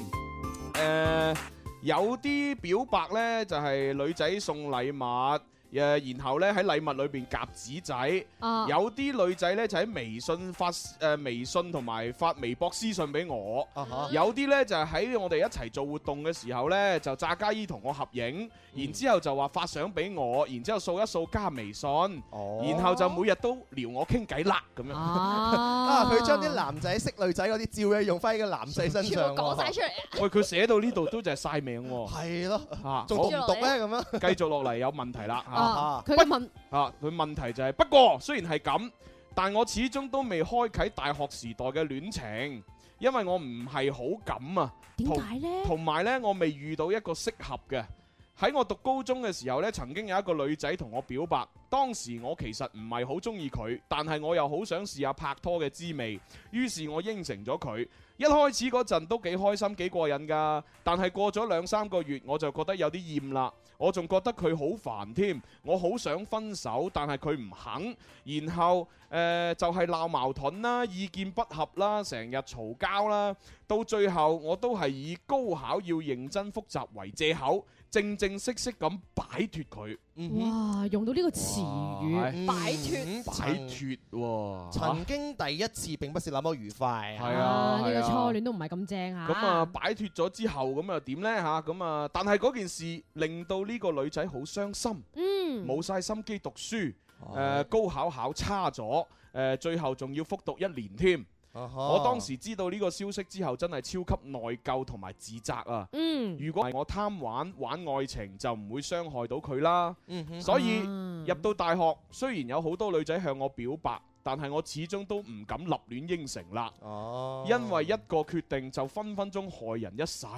有啲表白呢，就係女仔送禮物。然後咧喺禮物裏邊夾紙仔，有啲女仔咧就喺微信發微信同埋發微博私信俾我，有啲咧就喺我哋一齊做活動嘅時候咧就炸家姨同我合影，然之後就話發相俾我，然之後掃一掃加微信，然後就每日都撩我傾偈啦咁樣。 佢將啲男仔識女仔嗰啲照咧用翻喺個男仔身上， 講晒出嚟。 喂，佢寫到呢度都就係晒命喎。 係咯，仲讀唔讀咧咁樣？ 繼續落嚟有問題啦。 佢問佢問題就係，不過雖然係咁，但我始終都未開啟大學時代嘅戀情，因為我唔係好敢啊。 點解呢？ 同埋呢，我未遇到一個適合嘅。 喺我讀高中嘅時候呢，曾經有一個女仔同我表白，當時我其實唔係好中意佢，但係我又好想試下拍拖嘅滋味，於是我應承咗佢。一開始嗰陣都幾開心幾過癮㗎，但係過咗2-3個月我就覺得有啲厭啦，我仲覺得佢好煩添，我好想分手，但係佢唔肯，然後就係鬧矛盾啦，意見不合啦，成日嘈交啦，到最後我都係以高考要認真復習為藉口，正正式式咁擺脫佢。 哇！用到呢個詞語，擺脫， 擺脫喎。 曾經第一次並不是那麼愉快。 係啊， 呢個初戀都唔係咁正嚇。 咁啊，擺脫咗之後，咁又點呢嚇？咁啊，但係嗰件事令到呢個女仔好傷心，冇晒心機讀書，高考考差咗，最後仲要復讀1年添。我當時知道呢個消息之後，真係超級內疚同埋自責啊！如果係我貪玩愛情，就唔會傷害到佢啦。所以入到大學，雖然有好多女仔向我表白，但係我始終都唔敢立亂應承啦。因為一個決定就分分鐘害人一世。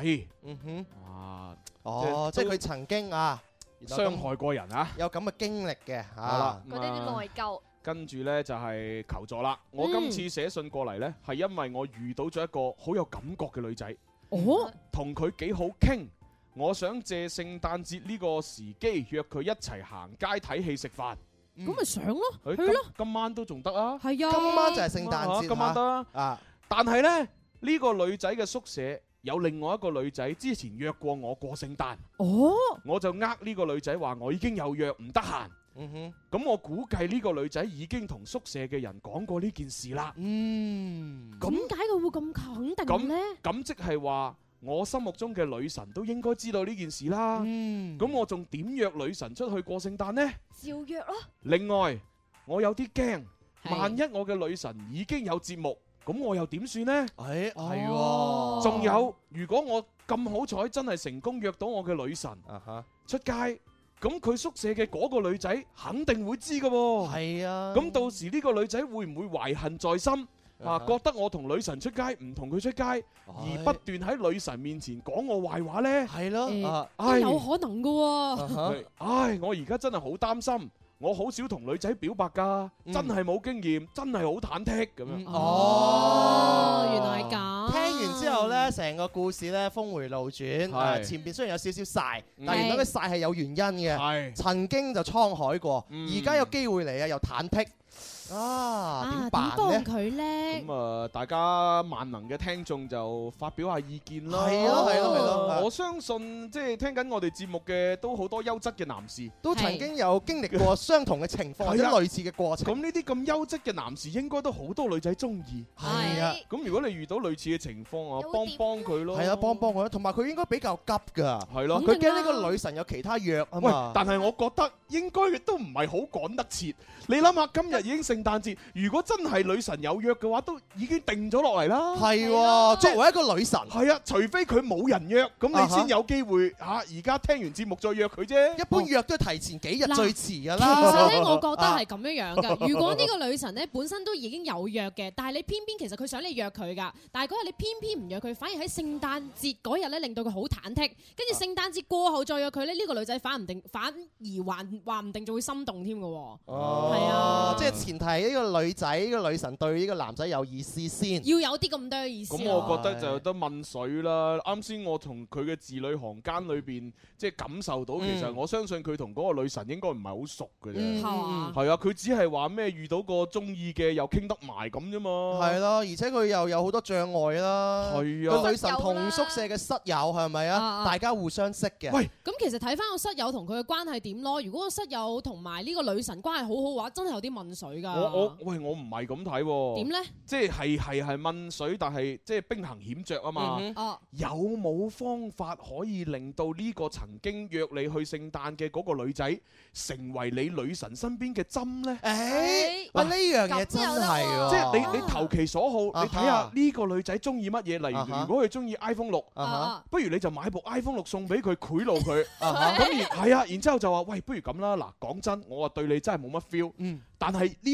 即係佢曾經傷害過人啊， 有咁嘅經歷嘅嗰啲內疚。 跟住呢，就係求助啦。我今次寫信過嚟呢，係因為我遇到咗一個好有感覺嘅女仔，同佢幾好傾。我想借聖誕節呢個時機約佢一齊行街睇戲食飯。 咁咪上咯，去咯。今晚都仲得啊。 係啊， 今晚就係聖誕節， 今晚得啊。但係呢，呢個女仔嘅宿舍有另外一個女仔之前約過我過聖誕。我就呢個女仔話我已經有約，唔得閒。咁我估計呢個女仔已經同宿舍嘅人講過呢件事啦。點解佢會咁肯定呢？ 咁即係話我心目中嘅女神都應該知道呢件事啦。咁我仲點約女神出去過聖誕呢？ 照約咯。 另外我有啲驚，萬一我嘅女神已經有節目，咁我又點算呢？仲有，如果我咁好彩真係成功約到我嘅女神出街，咁佢宿舍嘅嗰個女仔肯定會知㗎喎。係啊。咁到時呢個女仔會唔會懷恨在心覺得我同女神出街唔同佢出街，而不斷喺女神面前講我壞話呢？係咯。 有可能㗎喎。 我而家真係好擔心。我好少同女仔表白㗎，真係冇經驗，真係好忐忑咁樣。 原來係咁。 聽完之後呢，成個故事呢峰回路轉。前邊雖然有少少曬，但原來佢曬係有原因嘅。曾經就滄海過，而家有機會嚟又忐忑。點辦呢？點幫佢呢？ 咁大家萬能嘅聽眾就發表下意見啦。 係咯。 我相信即係聽緊我哋節目嘅都好多優質嘅男士， 都曾經有經歷過相同嘅情況或者類似嘅過程。 咁呢啲咁優質嘅男士應該都好多女仔中意。 係啊。 咁如果你遇到類似嘅情況幫佢咯。 係啊，幫佢。同埋佢應該比較急㗎。係咯。佢驚呢個女神有其他約啊嘛。 但係我覺得應該都唔係好趕得切。你諗下，今日已經聖誕節，如果真係女神有約嘅話，都已經定咗落嚟啦。 係喎，作為一個女神， 係啊，除非佢冇人約，咁你先有機會嚇。而家聽完節目再約佢啫。 一般約都提前幾日最遲㗎啦。 其實咧，我覺得係咁樣㗎。如果呢個女神咧本身都已經有約嘅，但係你偏偏其實佢想你約佢㗎，但係嗰日你偏偏唔約佢，反而喺聖誕節嗰日咧令到佢好忐忑，跟住聖誕節過後再約佢咧，呢個女仔反而話唔定就會心動添㗎喎。係啊， 即係前提呢個女仔呢個女神對呢個男仔有意思先， 要有啲咁多意思。 咁我覺得就有得問水啦。啱先我同佢嘅字裏行間裏邊，即係感受到，其實我相信佢同嗰個女神應該唔係好熟嘅啫。係啊，佢只係話咩遇到個中意嘅又傾得埋咁啫嘛。係咯，而且佢又有好多障礙啦。係啊，個女神同宿舍嘅室友係咪啊？大家互相識嘅。 喂，咁其實睇翻個室友同佢嘅關係點咯。如果個室友同埋呢個女神關係好好嘅話，真係有啲問水㗎。 我唔係咁睇喎。 點呢？ 即係問水，但係即係兵行險著啊嘛。有冇方法可以令到呢個曾經約你去聖誕嘅嗰個女仔成為你女神身邊嘅針呢？ 呢樣嘢真係喎。 即係你投其所好，你睇下呢個女仔中意乜嘢。例如，如果佢中意 iPhone 6，不如你就買部 iPhone 6送俾佢，賄賂佢。咁然之後就話：喂，不如咁啦。嗱，講真，我話對你真係冇乜 feel。但係呢個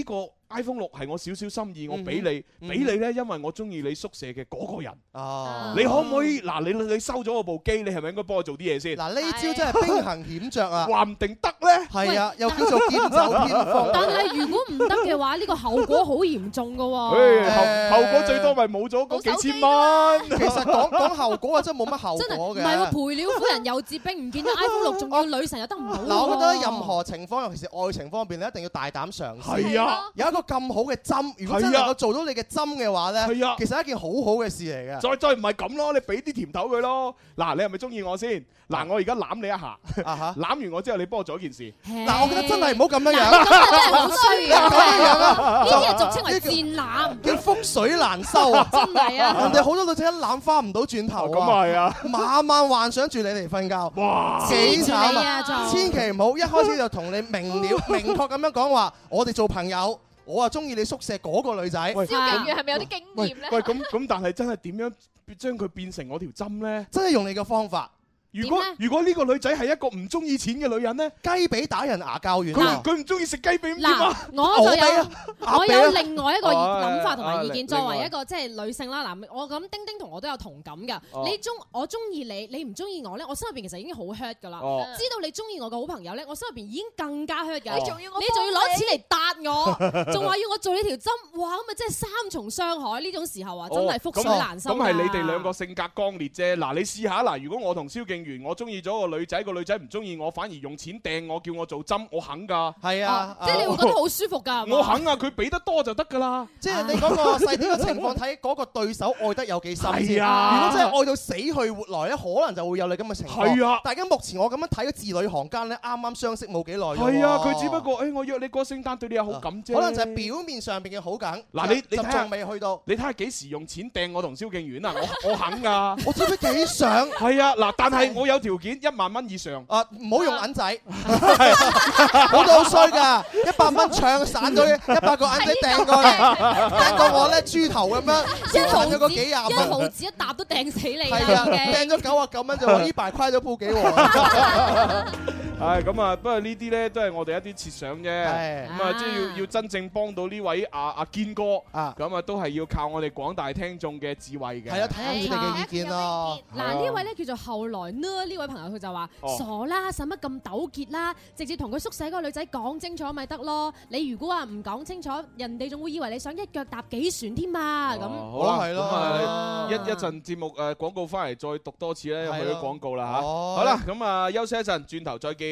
iPhone 6係我少少心意，我俾你，俾你咧，因為我中意你宿舍嘅嗰個人。哦，你可唔可以嗱？你收咗我部機，你係咪應該幫我做啲嘢先？ 嗱，呢招真係兵行險著啊！ 話唔定得咧。 係啊，又叫做劍走偏鋒。 但係如果唔得嘅話，呢個後果好嚴重㗎喎。 後果最多咪冇咗嗰幾千蚊。 其實講後果啊，真係冇乜後果嘅。 唔係喎，賠了夫人又折兵，唔見咗 iPhone 6，仲要女神又得唔到。 嗱，我覺得任何情況，尤其是愛情方面，你一定要大膽嘗試。 係啊， 有一個咁好嘅針，如果真係能夠做到你嘅針嘅話咧，係啊，其實係一件好好嘅事嚟嘅。 再唔係咁咯，你俾啲甜頭佢咯。嗱，你係咪中意我先？嗱，我而家攬你一下，攬完我之後，你幫我做一件事。 嗱，我覺得真係唔好咁樣樣。 咁真係好衰啊！呢啲係俗稱為賤攬， 叫覆水難收啊！ 真係啊！ 人哋好多女仔一攬翻唔到轉頭啊！ 咁係啊！ 晚晚幻想住你嚟瞓覺，哇！幾慘啊！千祈唔好一開始就同你明確咁樣講話，我哋做朋友，我啊中意你宿舍嗰個女仔。 蕭敬元係咪有啲經驗咧？ 喂，咁但係真係點樣將佢變成我條針咧？ 真係用你嘅方法。 如果呢個女仔係一個唔中意錢嘅女人咧， 雞髀打人牙較軟。 佢唔中意食雞髀點啊？ 我有另外一個諗法同埋意見。作為一個即係女性啦，嗱，我諗丁丁同我都有同感㗎。我中意你，你唔中意我咧，我心入邊其實已經好 hurt 㗎啦。知道你中意我嘅好朋友咧，我心入邊已經更加 hurt 㗎。你仲要攞錢嚟答我，仲話要我做呢條針，哇！咁咪即係三重傷害。呢種時候啊，真係覆水難收。 咁係你哋兩個性格剛烈啫。嗱，你試下嗱，如果我同蕭敬我中意咗個女仔，個女仔唔中意我，反而用錢掟我，叫我做針，我肯㗎。 係啊， 即係你會覺得好舒服㗎。 我肯啊，佢俾得多就得㗎啦。 即係你嗰個細啲嘅情況，睇嗰個對手愛得有幾深先。 係啊， 如果真係愛到死去活來咧，可能就會有你咁嘅情況。 係啊， 大家目前我咁樣睇嘅字裏行間咧，啱啱相識冇幾耐。 係啊，佢只不過我約你過聖誕對你有好感啫。 可能就係表面上邊嘅好感。 嗱，你仲未去到。 你睇下幾時用錢掟我同蕭敬遠啊？我肯㗎。 我知唔知幾想？ 係啊，嗱，但係我有條件，1萬蚊以上。 唔好用銀仔，我都好衰㗎。100蚊唱散咗100個銀仔掟過嚟，掟到我咧豬頭咁樣，賺咗個幾廿蚊。 1毫子一沓都掟死你啦！ 係啊，掟咗99蚊就話呢排虧咗鋪幾喎。 係咁啊，不過呢啲咧都係我哋一啲設想啫。咁啊，即係要真正幫到呢位阿堅哥咁啊，都係要靠我哋廣大聽眾嘅智慧嘅。 係啊，睇下你哋嘅意見咯。 嗱，呢位咧叫做後來呢位朋友佢就話：傻啦，使乜咁糾結啦？直接同佢宿舍嗰個女仔講清楚咪得咯。你如果話唔講清楚，人哋仲會以為你想一腳踏幾船添嘛。咁好啦，係咯，一陣節目廣告翻嚟再讀多次咧，去咗廣告啦嚇。好啦，咁啊休息一陣，轉頭再見。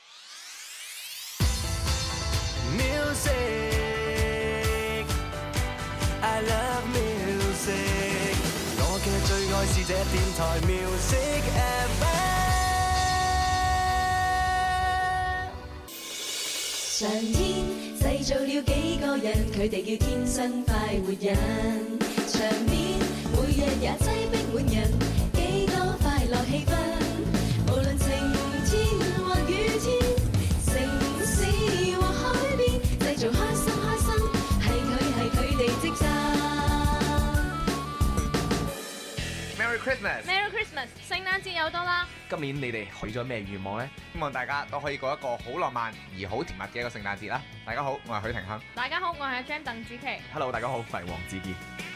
Music, I love music。我嘅最愛是這電台 Music FM。 上天製造了幾個人，佢哋叫天生快活人。場面每日也擠逼滿人，幾多快樂氣氛。無論晴天或雨天，城市或海邊，製造開心開心，係佢哋職責。 Merry Christmas！Merry Christmas！聖誕節又到啦！ 今年你哋許咗咩願望呢？希望大家都可以過一個好浪漫而好甜蜜嘅一個聖誕節啦！大家好，我係許廷鏗。 大家好，我係阿 Jam 鄧紫棋。 Hello， 大家好，我係黃子健。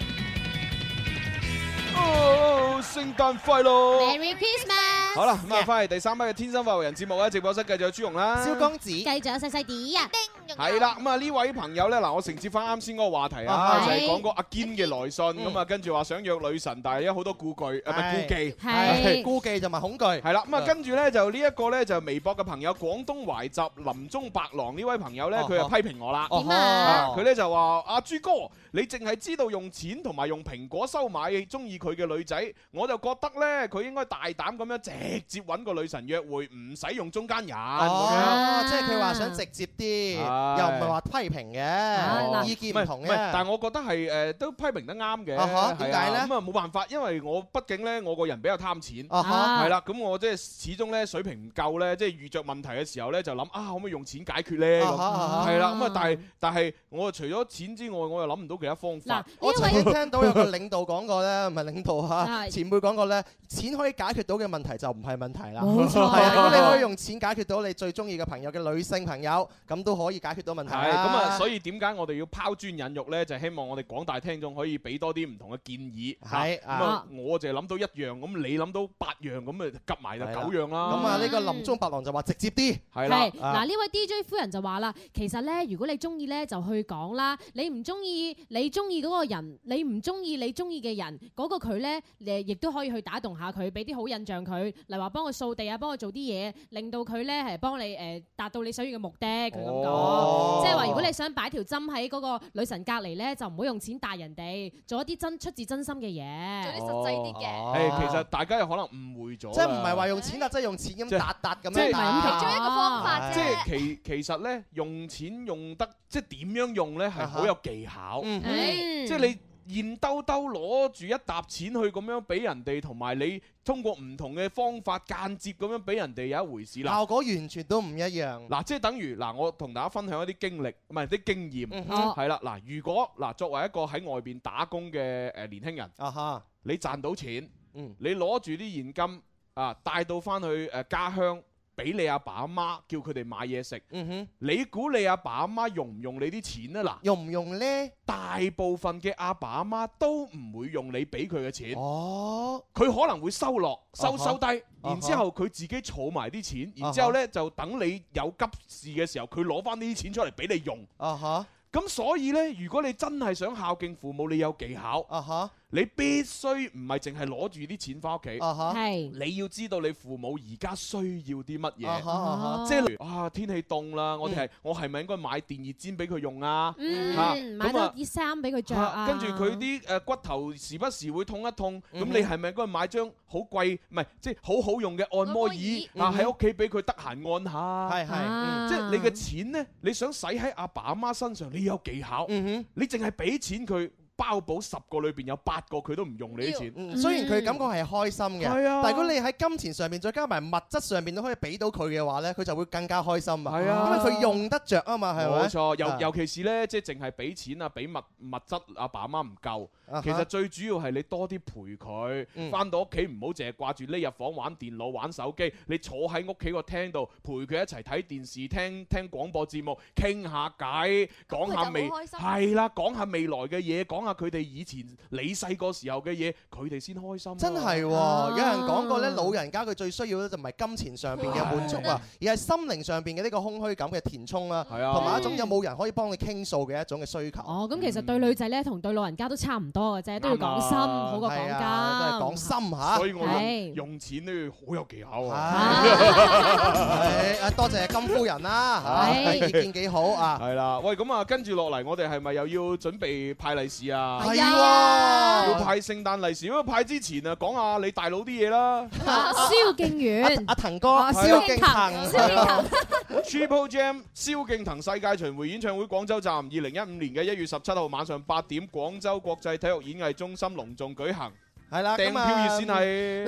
聖誕快樂 ！Merry Christmas！ 好啦，咁啊，翻嚟第3班嘅天生快活人節目咧，直播室繼續有朱紅啦， 蕭公子， 繼續有細細啲啊， 係啦，咁啊呢位朋友咧，嗱我承接翻啱先嗰個話題啊，就係講個阿堅嘅來信，咁啊跟住話想約女神，但係有好多顧忌，唔係顧忌， 係顧忌同埋恐懼， 係啦，咁啊跟住咧就呢一個咧就微博嘅朋友廣東懷集林中白狼呢位朋友咧，佢就批評我啦， 點啊？ 佢咧就話阿朱哥，你淨係知道用錢同埋用蘋果收買中意佢嘅女仔，我就覺得咧佢應該大膽咁樣直接揾個女神約會，唔使用中間人。 即係佢話想直接啲，又唔係話批評嘅，意見唔同嘅。 但係我覺得係都批評得啱嘅。點解咧？咁啊冇辦法，因為我畢竟咧我個人比較貪錢，係啦，咁我即係始終咧水平唔夠咧，即係遇着問題嘅時候咧就諗可唔可以用錢解決咧？係啦，咁啊但係我除咗錢之外，我又諗唔到其他方法。 我曾經聽到有個領導講過咧，唔係領導嚇，前輩講過咧，錢可以解決到嘅問題就唔係問題啦。冇錯，係啊，如果你可以用錢解決到你最中意嘅朋友嘅女性朋友，咁都可以解解決到問題。 係咁啊，所以點解我哋要拋磚引玉咧？就係希望我哋廣大聽眾可以俾多啲唔同嘅建議。 係咁啊，我就諗到1樣，咁你諗到8樣，咁啊夾埋就9樣啦。 咁啊，呢個林中白狼就話直接啲。 係啦。 嗱，呢位 DJ 夫人就話啦，其實咧，如果你中意咧，就去講啦。你唔中意你中意嗰個人，你唔中意你中意嘅人，嗰個佢咧，亦都可以去打動下佢，俾啲好印象佢，例如話幫佢掃地啊，幫佢做啲嘢，令到佢咧係幫你達到你想要嘅目的。佢咁講，即係話如果你想擺條針喺嗰個女神隔離咧，就唔好用錢帶人哋，做一啲出自真心嘅嘢， 做啲實際啲嘅。 其實大家有可能誤會咗， 即係唔係話用錢啦，即係用錢咁揼揼咁樣。 即係其中一個方法啫。 即係其實咧，用錢用得即係點樣用咧，係好有技巧。即係你現兜兜攞住一沓錢去咁樣俾人哋，同埋你通過唔同嘅方法間接咁樣俾人哋有一回事啦。 效果完全都唔一樣。 嗱，即係等於嗱，我同大家分享一啲經歷，唔係啲經驗，係啦。嗱，如果嗱作為一個喺外邊打工嘅年輕人，你賺到錢，你攞住啲現金啊，帶到翻去家鄉。俾你阿爸阿媽叫佢哋買嘢食，你估你阿爸阿媽用唔用你啲錢啊？嗱， 用唔用呢？ 大部分嘅阿爸阿媽都唔會用你俾佢嘅錢，佢可能會收落收低，然之後佢自己儲埋啲錢，然之後呢就等你有急事嘅時候，佢攞翻呢啲錢出嚟俾你用。咁所以呢，如果你真係想孝敬父母，你有技巧。你必須唔係淨係攞住啲錢翻屋企，你要知道你父母而家需要啲乜嘢，即係例如天氣凍啦，我係咪應該買電熱氈俾佢用啊？ 買多啲衫俾佢着啊！ 跟住佢啲骨頭時不時會痛一痛，咁你係咪應該買張好貴唔係即係好好用嘅按摩椅喺屋企俾佢得閒按下？即係你嘅錢呢，你想使喺阿爸阿媽身上，你有技巧，你淨係俾錢佢。包保10個裏邊有8個佢都唔用你啲錢， 雖然佢感覺係開心嘅，但係如果你喺金錢上面再加埋物質上面都可以俾到佢嘅話咧，佢就會更加開心啊！因為佢用得着啊嘛，係咪？ 冇錯，尤其是咧，即係淨係俾錢啊，俾物質阿爸阿媽唔夠。其實最主要係你多啲陪佢，翻到屋企唔好淨係掛住匿入房玩電腦玩手機，你坐喺屋企個廳度陪佢一齊睇電視、聽廣播節目，傾下偈，講下講下未來嘅嘢，講下佢哋以前你細個時候嘅嘢，佢哋先開心。 真係，有人講過咧，老人家佢最需要咧就唔係金錢上邊嘅滿足啊，而係心靈上邊嘅呢個空虛感嘅填充啦，同埋一種有冇人可以幫你傾訴嘅一種嘅需求。 咁其實對女仔咧同對老人家都差唔多嘅啫，都要講心好過講金， 都係講心嚇。 所以我用錢咧好有技巧多謝金夫人啦，意見幾好啊。 係啦，喂，咁啊，跟住落嚟，我哋係咪又要準備派利是啊？ 係喎， 要派聖誕利是。不過派之前啊，講下你大佬啲嘢啦。 蕭敬遠， 阿騰哥，蕭敬騰 ，Triple Jam， 蕭敬騰世界巡迴演唱會廣州站，2015年嘅1月17號晚上8點，廣州國際體育演藝中心隆重舉行。 係啦， 訂票熱線係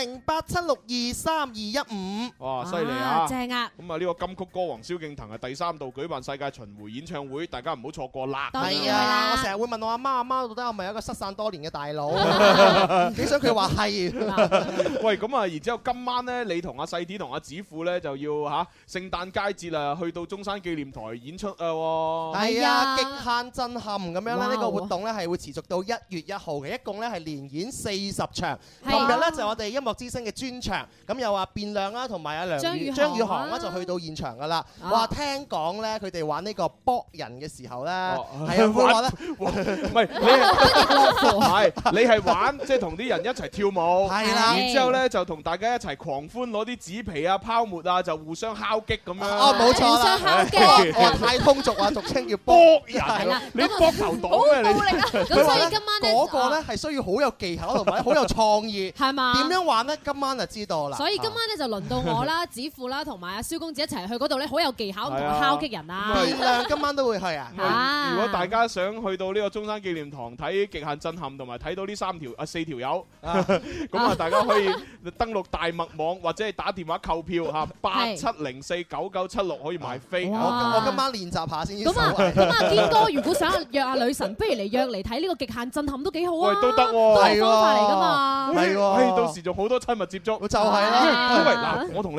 0208762315。 哇，犀利啊！ 正啊！ 咁啊，呢個金曲歌王蕭敬騰係第3度舉辦世界巡迴演唱會，大家唔好錯過啦！ 係啊，我成日會問我阿媽到底係咪一個失散多年嘅大佬？幾想佢話係。 喂，咁啊，然之後今晚咧，你同阿細啲同阿子富咧就要聖誕佳節啊，去到中山紀念台演出啊！ 係啊，極限震撼咁樣咧，呢個活動咧係會持續到1月1號嘅，一共咧係連演40場。琴日咧就我哋音樂之聲嘅專場，咁又話變亮啦，同埋阿張宇航啦就去到現場噶啦。哇，聽講咧佢哋玩呢個搏人嘅時候咧，係啊，會話咧， 唔係你係玩即係同啲人一齊跳舞， 係啦， 然之後咧就同大家一齊狂歡，攞啲紙皮啊、泡沫啊，就互相敲擊咁樣。 冇錯啦，互相敲擊，太通俗啊，俗稱叫搏人。 你搏頭黨咩？你咁所以今晚咧嗰個咧係需要好有技巧同埋好有創意， 係嘛？ 點樣玩咧？今晚就知道啦。 所以今晚咧就輪到我啦、子富啦同埋阿蕭公子一齊去嗰度咧，好有技巧同埋敲擊人啊！ 變亮今晚都會去啊！ 如果大家想去到呢個中山紀念堂睇極限震撼，同埋睇到呢4條友，咁啊大家可以登錄大麥網或者係打電話購票嚇87049976可以買飛。 我今晚練習下先。 咁啊，堅哥如果想約阿女神，不如嚟約嚟睇呢個極限震撼都幾好啊！ 喂，都得喎， 都係方法嚟㗎嘛。 係喎， 到時仲好多親密接觸。 就係啦。 因為嗱，我同你講，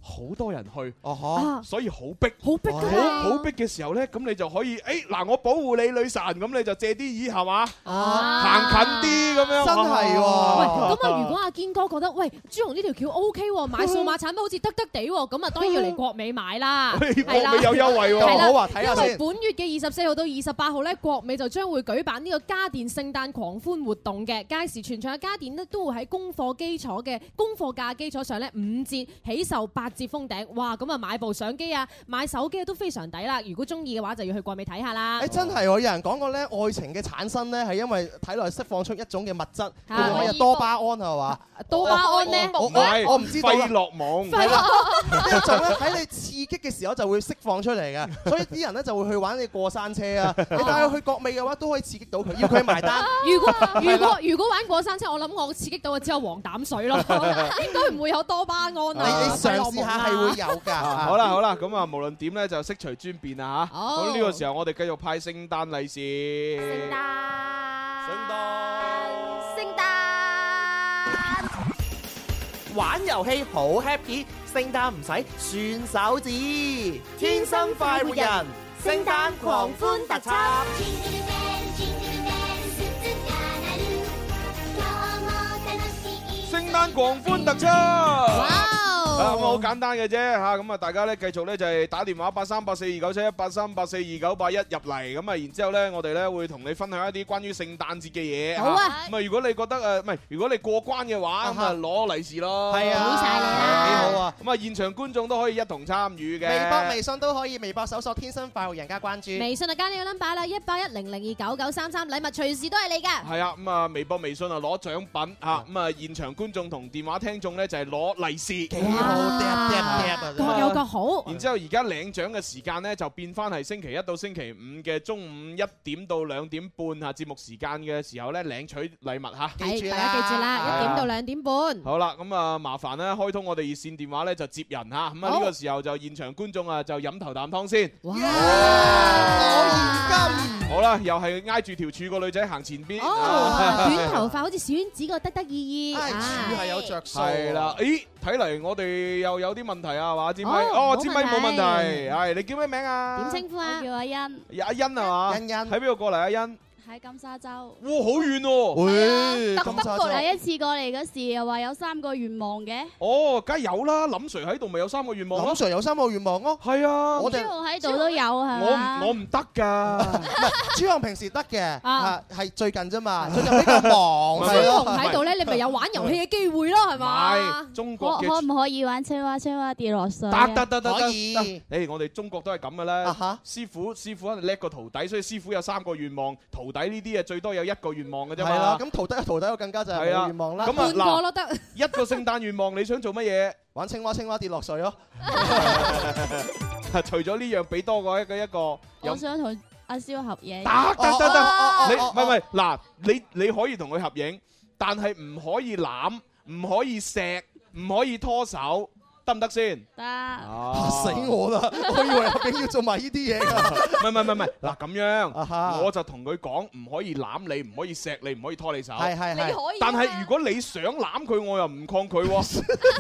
好多人去，所以好逼， 好逼好逼嘅時候咧，咁你就可以嗱，我保護你女神，咁你就借啲椅係嘛，行近啲咁樣， 真係喎。 喂，咁啊，如果阿堅哥覺得喂朱紅呢條橋 OK 喎，買數碼產品好似得地喎，咁啊當然要嚟國美買啦，係啦， 國美有優惠喎， 好啊，睇下先。 因為本月嘅24號到28號咧，國美就將會舉辦呢個家電聖誕狂歡活動嘅，屆時全場嘅家電咧都會喺供貨價基礎上咧5折起售8折封頂，哇！咁啊買部相機啊，買手機都非常抵啦。如果中意嘅話，就要去國美睇下啦。 真係喎，有人講過咧，愛情嘅產生咧係因為體內釋放出一種嘅物質，叫做咩多巴胺係嘛？ 多巴胺咧， 我唔知道。 費洛蒙係啦，呢種咧喺你刺激嘅時候就會釋放出嚟嘅，所以啲人咧就會去玩你過山車啊。你帶佢去國美嘅話，都可以刺激到佢，要佢埋單。 如果玩過山車，我諗我刺激到嘅只有黃膽水咯，應該唔會有多巴胺啊。 你嘗試下係會有㗎。 好啦，咁啊無論點咧就悉隨尊便啊嚇。咁呢個時候我哋繼續派聖誕利是。 聖誕玩遊戲好 happy， 聖誕唔使算手指，天生快活人，聖誕狂歡特輯。 聖誕狂歡特輯。咁好簡單嘅啫嚇，咁啊大家咧繼續咧就係打電話8384297183842981入嚟，咁啊然之後咧我哋咧會同你分享一啲關於聖誕節嘅嘢。好啊，咁啊如果你覺得唔係，如果你過關嘅話，咁啊攞利是咯。係啊， 好晒你啦，幾好啊！ 咁啊現場觀眾都可以一同參與嘅。 微博、微信都可以，微博搜索天生快活人加關注。 微信就加你個 number 啦，18100299933，禮物隨時都係你㗎。 係啊，咁啊微博、微信啊攞獎品嚇，咁啊現場觀眾同電話聽眾咧就係攞利是。 各有各好。 然之後而家領獎嘅時間咧就變翻係星期一到星期五嘅中午1點到2點半嚇節目時間嘅時候咧領取禮物嚇。 係，大家記住啦，1點到2點半。 好啦，咁啊麻煩咧開通我哋熱線電話咧就接人嚇，咁啊呢個時候就現場觀眾啊就飲頭啖湯先。哇！ 攞現金。 好啦，又係挨住條柱個女仔行前邊。 短頭髮好似小丸子個得意。 柱係有着數。 係啦，咦？睇嚟我哋又有啲問題啊，係嘛？支咪，支咪冇問題。係，你叫咩名啊？ 點稱呼啊？ 叫阿欣。 阿欣係嘛？ 欣欣。喺邊度過嚟？阿欣。 喺金沙洲。 哇，好遠喎！ 會特登過嚟一次過嚟嗰時，又話有3個願望嘅。 哦，梗係有啦，林 Sir 喺度咪有3個願望咯。 林 Sir 有3個願望咯。 係啊， 朱紅喺度都有係嘛？ 我唔得㗎。 唔係，朱紅平時得嘅，係最近啫嘛，最近比較忙。 朱紅喺度咧，你咪有玩遊戲嘅機會咯，係嘛？ 係中國嘅。 可唔可以玩青蛙跌落水？ 得， 可以。 誒，我哋中國都係咁嘅啦。師傅肯定叻過徒弟，所以師傅有3個願望，徒弟呢啲啊最多有1個願望嘅啫嘛。係啦， 咁徒弟我更加就係冇願望啦。 咁半個咯得。 一個聖誕願望，你想做乜嘢？ 玩青蛙跌落水咯。 除咗呢樣，俾多過一個。 我想同阿蕭合影。 得，你唔係嗱，你可以同佢合影，但係唔可以攬，唔可以錫，唔可以拖手。得唔得先？ 得。 嚇死我啦！我以為合影要做埋呢啲嘢㗎。 唔係，嗱咁樣，我就同佢講，唔可以攬你，唔可以錫你，唔可以拖你手。 係。 你可以。 但係如果你想攬佢，我又唔抗拒喎。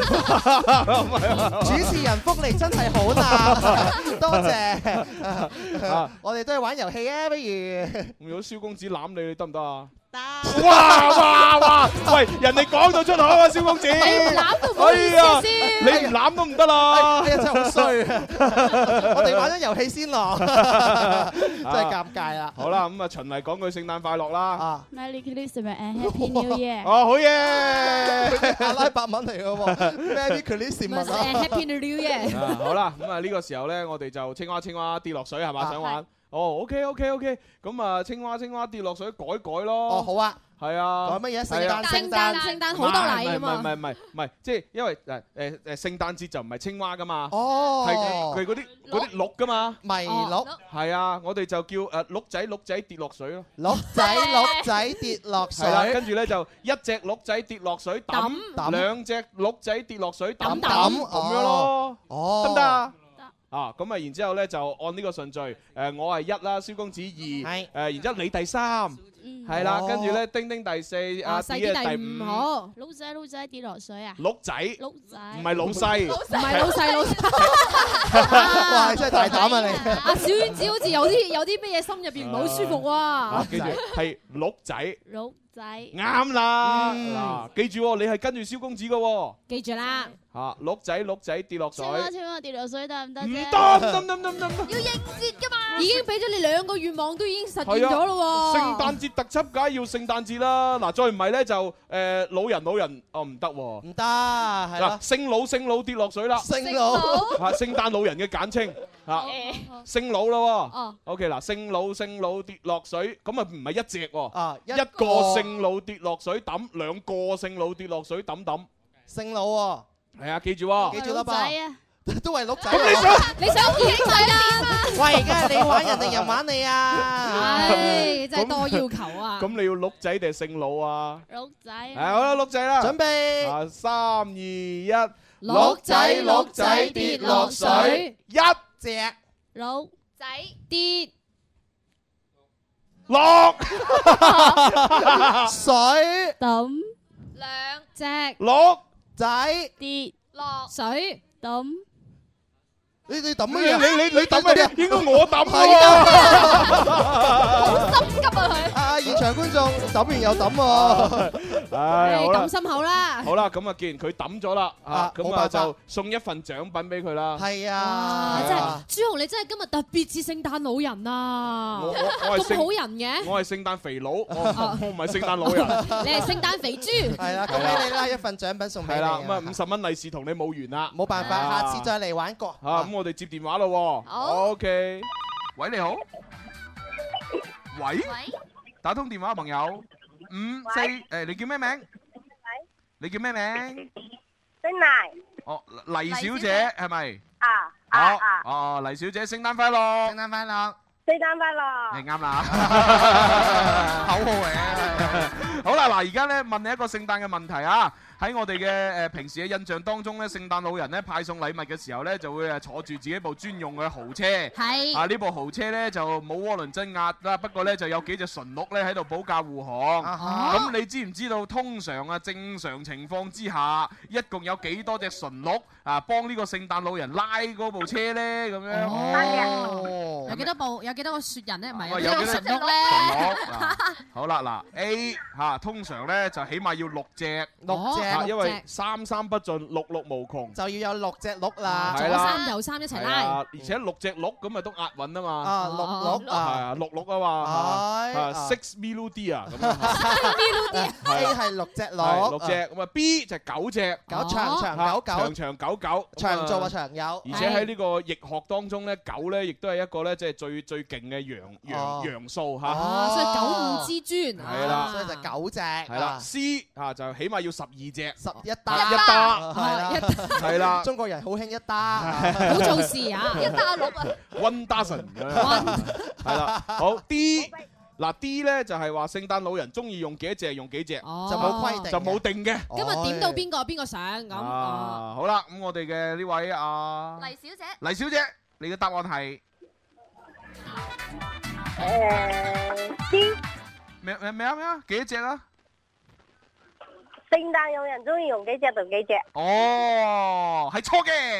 主持人福利真係好啦，多謝。我哋都係玩遊戲啊，不如。 如果蕭公子攬你得唔得啊？ 得。 哇！喂，人哋講到出口啊，蕭公子。 攬都唔好意思先。 你唔攬都唔得啦。 哎呀，真係好衰。我哋玩咗遊戲先咯，真係尷尬啦。 好啦，咁啊，循例講句聖誕快樂啦。 Merry Christmas and Happy New Year。 哦，好嘢。 阿拉伯文嚟嘅喎 ，Merry Christmas and Happy New Year。 好啦，咁啊呢個時候咧，我哋就青蛙跌落水係嘛？想玩？哦，OK，咁啊，青蛙跌落水改咯。 哦，好啊。 係啊。 改乜嘢？聖誕好多禮啊嘛。 唔係，即係因為聖誕節就唔係青蛙噶嘛。 哦。 係佢嗰啲鹿噶嘛。 麋鹿。 係啊，我哋就叫鹿仔跌落水咯。 鹿仔跌落水。係啦， 跟住咧就一隻鹿仔跌落水揼，兩隻鹿仔跌落水揼咁樣咯。 哦。 得唔得啊？咁啊，然之後咧就按呢個順序，我係1啦，蕭公子2，然之後你第3， 係啦，跟住咧丁丁第四，阿 D 係第5。 好，老仔跌落水啊！ 鹿仔，唔係老細， 唔係老細。 哇！真係大膽啊你！ 阿小丸子好似有啲咩嘢心入邊唔係好舒服喎。 記住係鹿仔。 鹿仔。 啱啦，嗱，記住你係跟住蕭公子嘅。 記住啦。 嚇，鹿仔跌落水。 千蚊跌落水得唔得啫？ 唔得， 要應節㗎嘛！ 已經俾咗你2個願望，都已經實現咗咯喎。 聖誕節特輯梗係要聖誕節啦，嗱，再唔係咧就老人，唔得喎。 唔得，係啦。 聖老跌落水啦。 聖老嚇，聖誕老人嘅簡稱嚇。聖老啦喎。OK 嗱，聖老跌落水，咁啊唔係一隻喎。一個聖老跌落水抌，2個聖老跌落水抌。 聖老喎。 係啊，記住喎。 記住啦吧。都係鹿仔。 咁你想見仔啦？ 喂，而家係你玩人定人玩你啊？ 唉，真係多要求啊！ 咁你要鹿仔定係聖老啊？ 鹿仔。 好啦，鹿仔啦。 準備。 3、2、1。 鹿仔跌落水， 一隻鹿仔跌落水， 抌 2隻鹿仔跌落水， 抌。 你抌乜嘢？ 你抌乜嘢？應該我抌好心急啊佢！ 啊！現場觀眾抌完又抌喎， 唉， 抌心口啦。 好啦，咁啊，既然佢抌咗啦，咁啊就送一份獎品俾佢啦。 係啊， 真係朱紅，你真係今日特別似聖誕老人啊！ 我咁好人嘅。 我係聖誕肥佬，我唔係聖誕老人。 你係聖誕肥豬。 係啦，恭喜你啦！一份獎品送俾你。 係啦，咁啊50蚊利是同你冇緣啦。 冇辦法，下次再嚟玩過。 咁我哋接電話咯。 好。 OK。喂，你好。喂。打通電話，朋友。5、4，誒，你叫咩名？你叫咩名？ 姓黎。 哦，黎小姐係咪？ 好。 哦，黎小姐，聖誕快樂！ 聖誕快樂！ 聖誕快樂！ 你啱啦，口號嚟嘅。好啦，嗱，而家咧問你一個聖誕嘅問題啊。喺我哋嘅平時嘅印象當中咧，聖誕老人咧派送禮物嘅時候咧，就會坐住自己部專用嘅豪車。 係。 呢部豪車咧就冇渦輪增壓啦，不過咧就有幾隻馴鹿咧喺度保駕護航。咁你知唔知道通常正常情況之下，一共有幾多隻馴鹿幫呢個聖誕老人拉嗰部車咧？咁樣。 哦。有幾多部？有幾多個雪人咧？唔係有幾多馴鹿咧？ 好啦，嗱 A 通常咧就起碼要6隻。 6隻。 因為三不盡，六無窮， 就要有6隻鹿啦， 左3右3一齊拉， 而且6隻鹿咁咪都押韻啊嘛， 鹿係6鹿啊嘛，6 melody 啊咁樣 ，A 係6隻鹿 ，6隻咁啊 B 就9隻， 長久，長做啊長有， 而且喺呢個易學當中咧，9咧亦都係一個咧即係最勁嘅陽數嚇， 所以9五之尊， 係啦， 所以就9隻， 係啦 C 就起碼要12隻。 11打， 係啦， 中國人好興一打， 好做事啊！1打6啊 ，1 dozen，係啦，好 D 嗱 D 咧就係話聖誕老人中意用幾多隻用幾隻， 就冇規定， 就冇定嘅。 今日點到邊個上咁？ 好啦，咁我哋嘅呢位黎小姐，你嘅答案係 D 咩啊？幾多隻啊？ 聖誕老人中意用幾隻就幾隻。 哦，係錯嘅。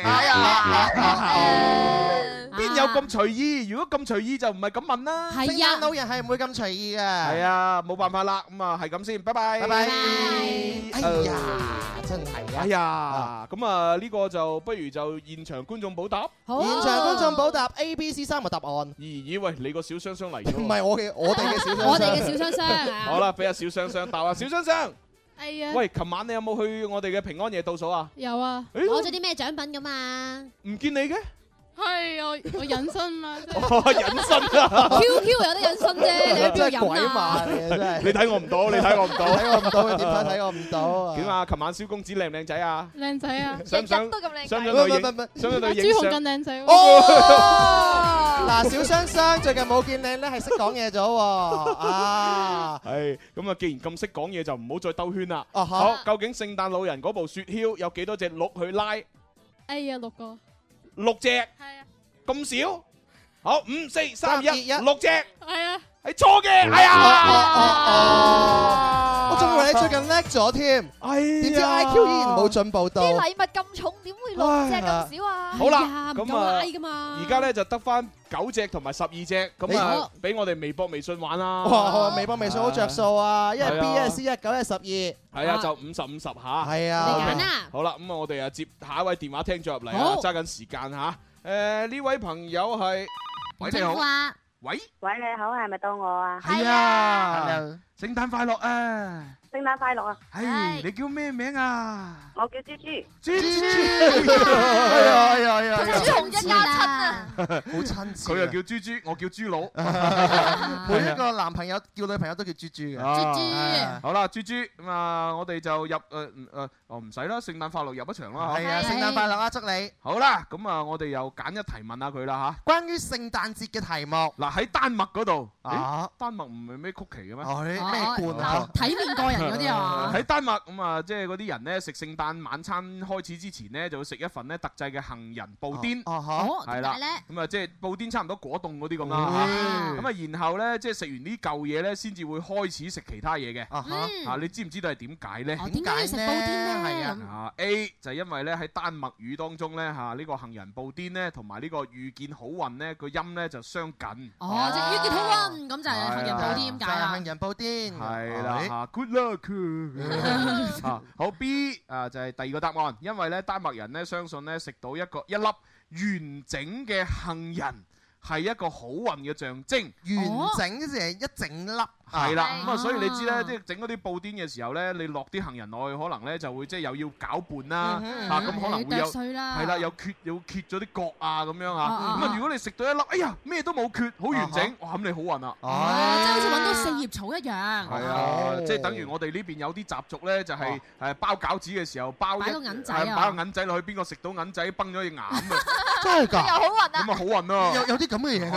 邊有咁隨意？如果咁隨意就唔係咁問啦。 聖誕老人係唔會咁隨意嘅。 係啊，冇辦法啦。咁啊，係咁先，拜拜。拜拜。 哎呀，真係啊。 哎呀，咁啊呢個就不如就現場觀眾補答。 好。現場觀眾補答 A、B、C 3個答案。 咦喂，你個小雙雙嚟咗。 唔係我哋嘅小雙雙。 我哋嘅小雙雙。 好啦，俾阿小雙雙答啊，小雙雙。 係啊！ 喂，琴晚你有冇去我哋嘅平安夜倒數啊？ 有啊，攞咗啲咩獎品咁啊？ 唔見你嘅？ 係我隱身啦， 隱身啊 ！QQ 有得隱身啫，你喺邊度飲啊？ 真係你睇我唔到，你睇我唔到， 睇我唔到，點解睇我唔到？ 點啊？琴晚蕭公子靚唔靚仔啊？ 靚仔啊！ 想唔想都咁靚？ 想唔想去影相？ 朱紅更靚仔喎！ 嗱，小雙雙最近冇見靚咧，係識講嘢咗喎啊！ 係咁啊！既然咁識講嘢，就唔好再兜圈啦。 好， 究竟聖誕老人嗰部雪橇有幾多隻鹿去拉？ 哎呀，6個。 6隻， 係啊， 咁少？好，5、4、3、2、1，6隻。 係啊。 係錯嘅。哎呀！ 我仲以為你最近叻咗添，點知 IQ 依然冇進步到。 啲禮物咁重，點會6隻咁少啊？ 好啦，咁啊， 而家咧就得翻9隻同埋12隻，咁啊，俾我哋微博、微信玩啦。 哇！微博、微信好着數啊，一係 B， 一係 C， 一係9，一係12。 係啊，就50-50嚇。 係啊， 你揀啊！ 好啦，咁啊，我哋啊接下一位電話聽咗入嚟啊，揸緊時間嚇。呢位朋友係，喂你好，喂你好，係咪到我啊？ 係啊，聖誕快樂啊！ 聖誕快樂啊！ 係，你叫咩名啊？ 我叫豬豬。 豬豬， 係啊！ 豬紅一家親啊！ 好親切。 佢又叫豬豬，我叫豬佬。 每一個男朋友叫女朋友都叫豬豬嘅。 豬豬。 好啦，豬豬咁啊，我哋就入唔使啦，聖誕快樂入一場啦嚇。 係啊，聖誕快樂啊，祝你。 好啦，咁啊，我哋又揀一題問下佢啦嚇。 關於聖誕節嘅題目。 嗱喺丹麥嗰度。 啊！ 丹麥唔係咩曲奇嘅咩？ 咩罐啊？ 體面過人嗰啲啊！ 喺丹麥咁啊，即係嗰啲人咧食聖誕晚餐開始之前咧，就會食一份咧特製嘅杏仁布甸。係啦。咁啊，即係布甸差唔多果凍嗰啲咁啦。咁啊，然後咧即係食完呢嚿嘢咧，先至會開始食其他嘢嘅。你知唔知道係點解咧？ 點解要食布甸咧？ 係啊。A 就係因為咧喺丹麥語當中咧呢個杏仁布甸咧同埋呢個遇見好運咧個音咧就相近。 即係遇見好運咁就係杏仁布甸咁解啦。 杏仁布甸係啦 Good luck 好 B 就係第二個答案，因為咧丹麥人咧相信咧食到一粒完整嘅杏仁係一個好運嘅象徵。 完整即係一整粒。 係啦，咁啊，所以你知咧，即係整嗰啲布甸嘅時候咧，你落啲杏仁落去，可能咧就會即係又要攪拌啦，咁可能會有係啦，有缺咗啲角啊咁樣啊。咁啊，如果你食到一粒，哎呀咩都冇缺，好完整，哇咁你好運啦！ 即係好似揾到4葉草一樣。 係啊，即係等於我哋呢邊有啲習俗咧，就係包餃子嘅時候包個銀仔擺個銀仔落去，邊個食到銀仔崩咗隻牙咁啊！ 真係㗎， 又好運啊！ 咁啊好運啊！ 有啲咁嘅嘢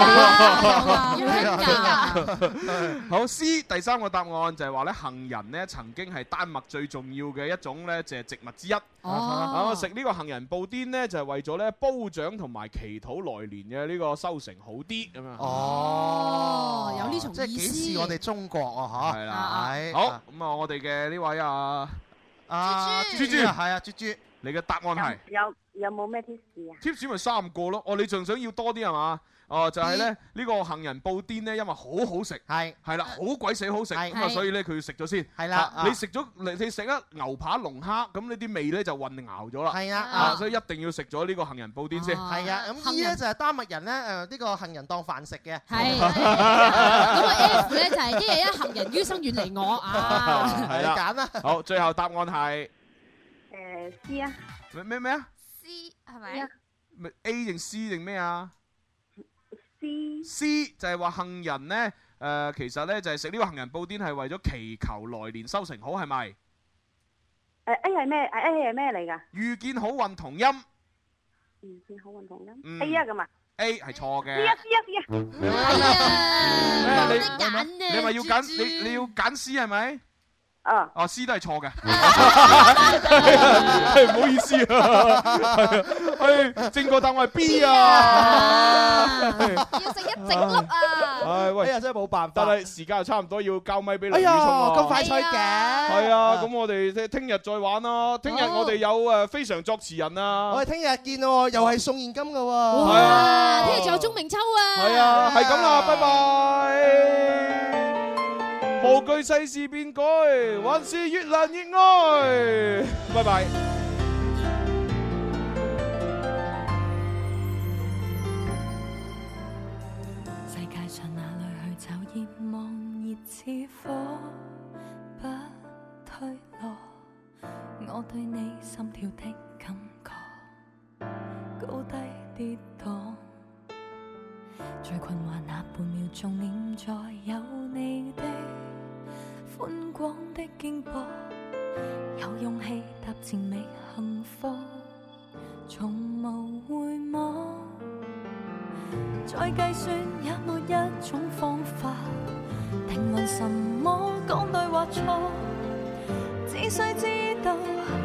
係啊！好 C 第3個答案就係話咧杏仁咧曾經係丹麥最重要嘅一種咧就係植物之一。食呢個杏仁布甸咧就係為咗咧褒獎同埋祈禱來年嘅呢個收成好啲咁樣。 有呢種意思。 即係幾似我哋中國啊嚇。係啦。好咁啊，我哋嘅呢位豬豬係啊豬豬， 你嘅答案係有冇咩 tips 啊 ？tips 咪3個咯。你仲想要多啲係嘛？就係咧呢個杏仁布甸咧，因為好好食，係啦，好鬼死好食，咁啊，所以咧佢要食咗先。係啦，你食一牛扒龍蝦，咁呢啲味咧就混淆咗啦。係啊，所以一定要食咗呢個杏仁布甸先。係啊，咁呢咧就係丹麥人咧呢個杏仁當飯食嘅。 係。咁個 F 咧就係一日一杏仁，於生遠離我啊。 係啦，揀啦。好，最後答案係 C 啊。 咩啊 ？C 係咪 ？A 定 C 定咩啊？C 就係話杏仁咧，其實咧就係食呢個杏仁布甸係為咗祈求來年收成好，係咪 ？A 係咩？A 係咩嚟㗎？ 遇見好運同音。 遇見好運同音。A 啊咁啊。 A 係錯嘅。 C 啊。 你咪要揀你要揀 C 係咪？C 都係錯嘅，唔好意思啊，正確答案係 B 啊， 要食一整粒啊！ 喂， 真係冇辦法， 但係時間又差唔多，要交咪俾梁宇聰啊！ 咁快脆嘅， 係啊，咁我哋聽日再玩咯。聽日我哋有非常作詞人啊， 我哋聽日見喎，又係送現金嘅喎， 係啊，聽日仲有鐘明秋啊， 係啊，係咁啦，拜拜。無懼世事變改，還是越難越愛。拜拜。 世界上哪裏去找熱望熱似火，不退落。我對你心跳的感覺，高低跌宕。最困惑那半秒鐘，念在有你的寬廣的肩膊，有勇氣踏前覓幸福，從無回望。再計算也沒一種方法定論什麼講對或錯，只需知道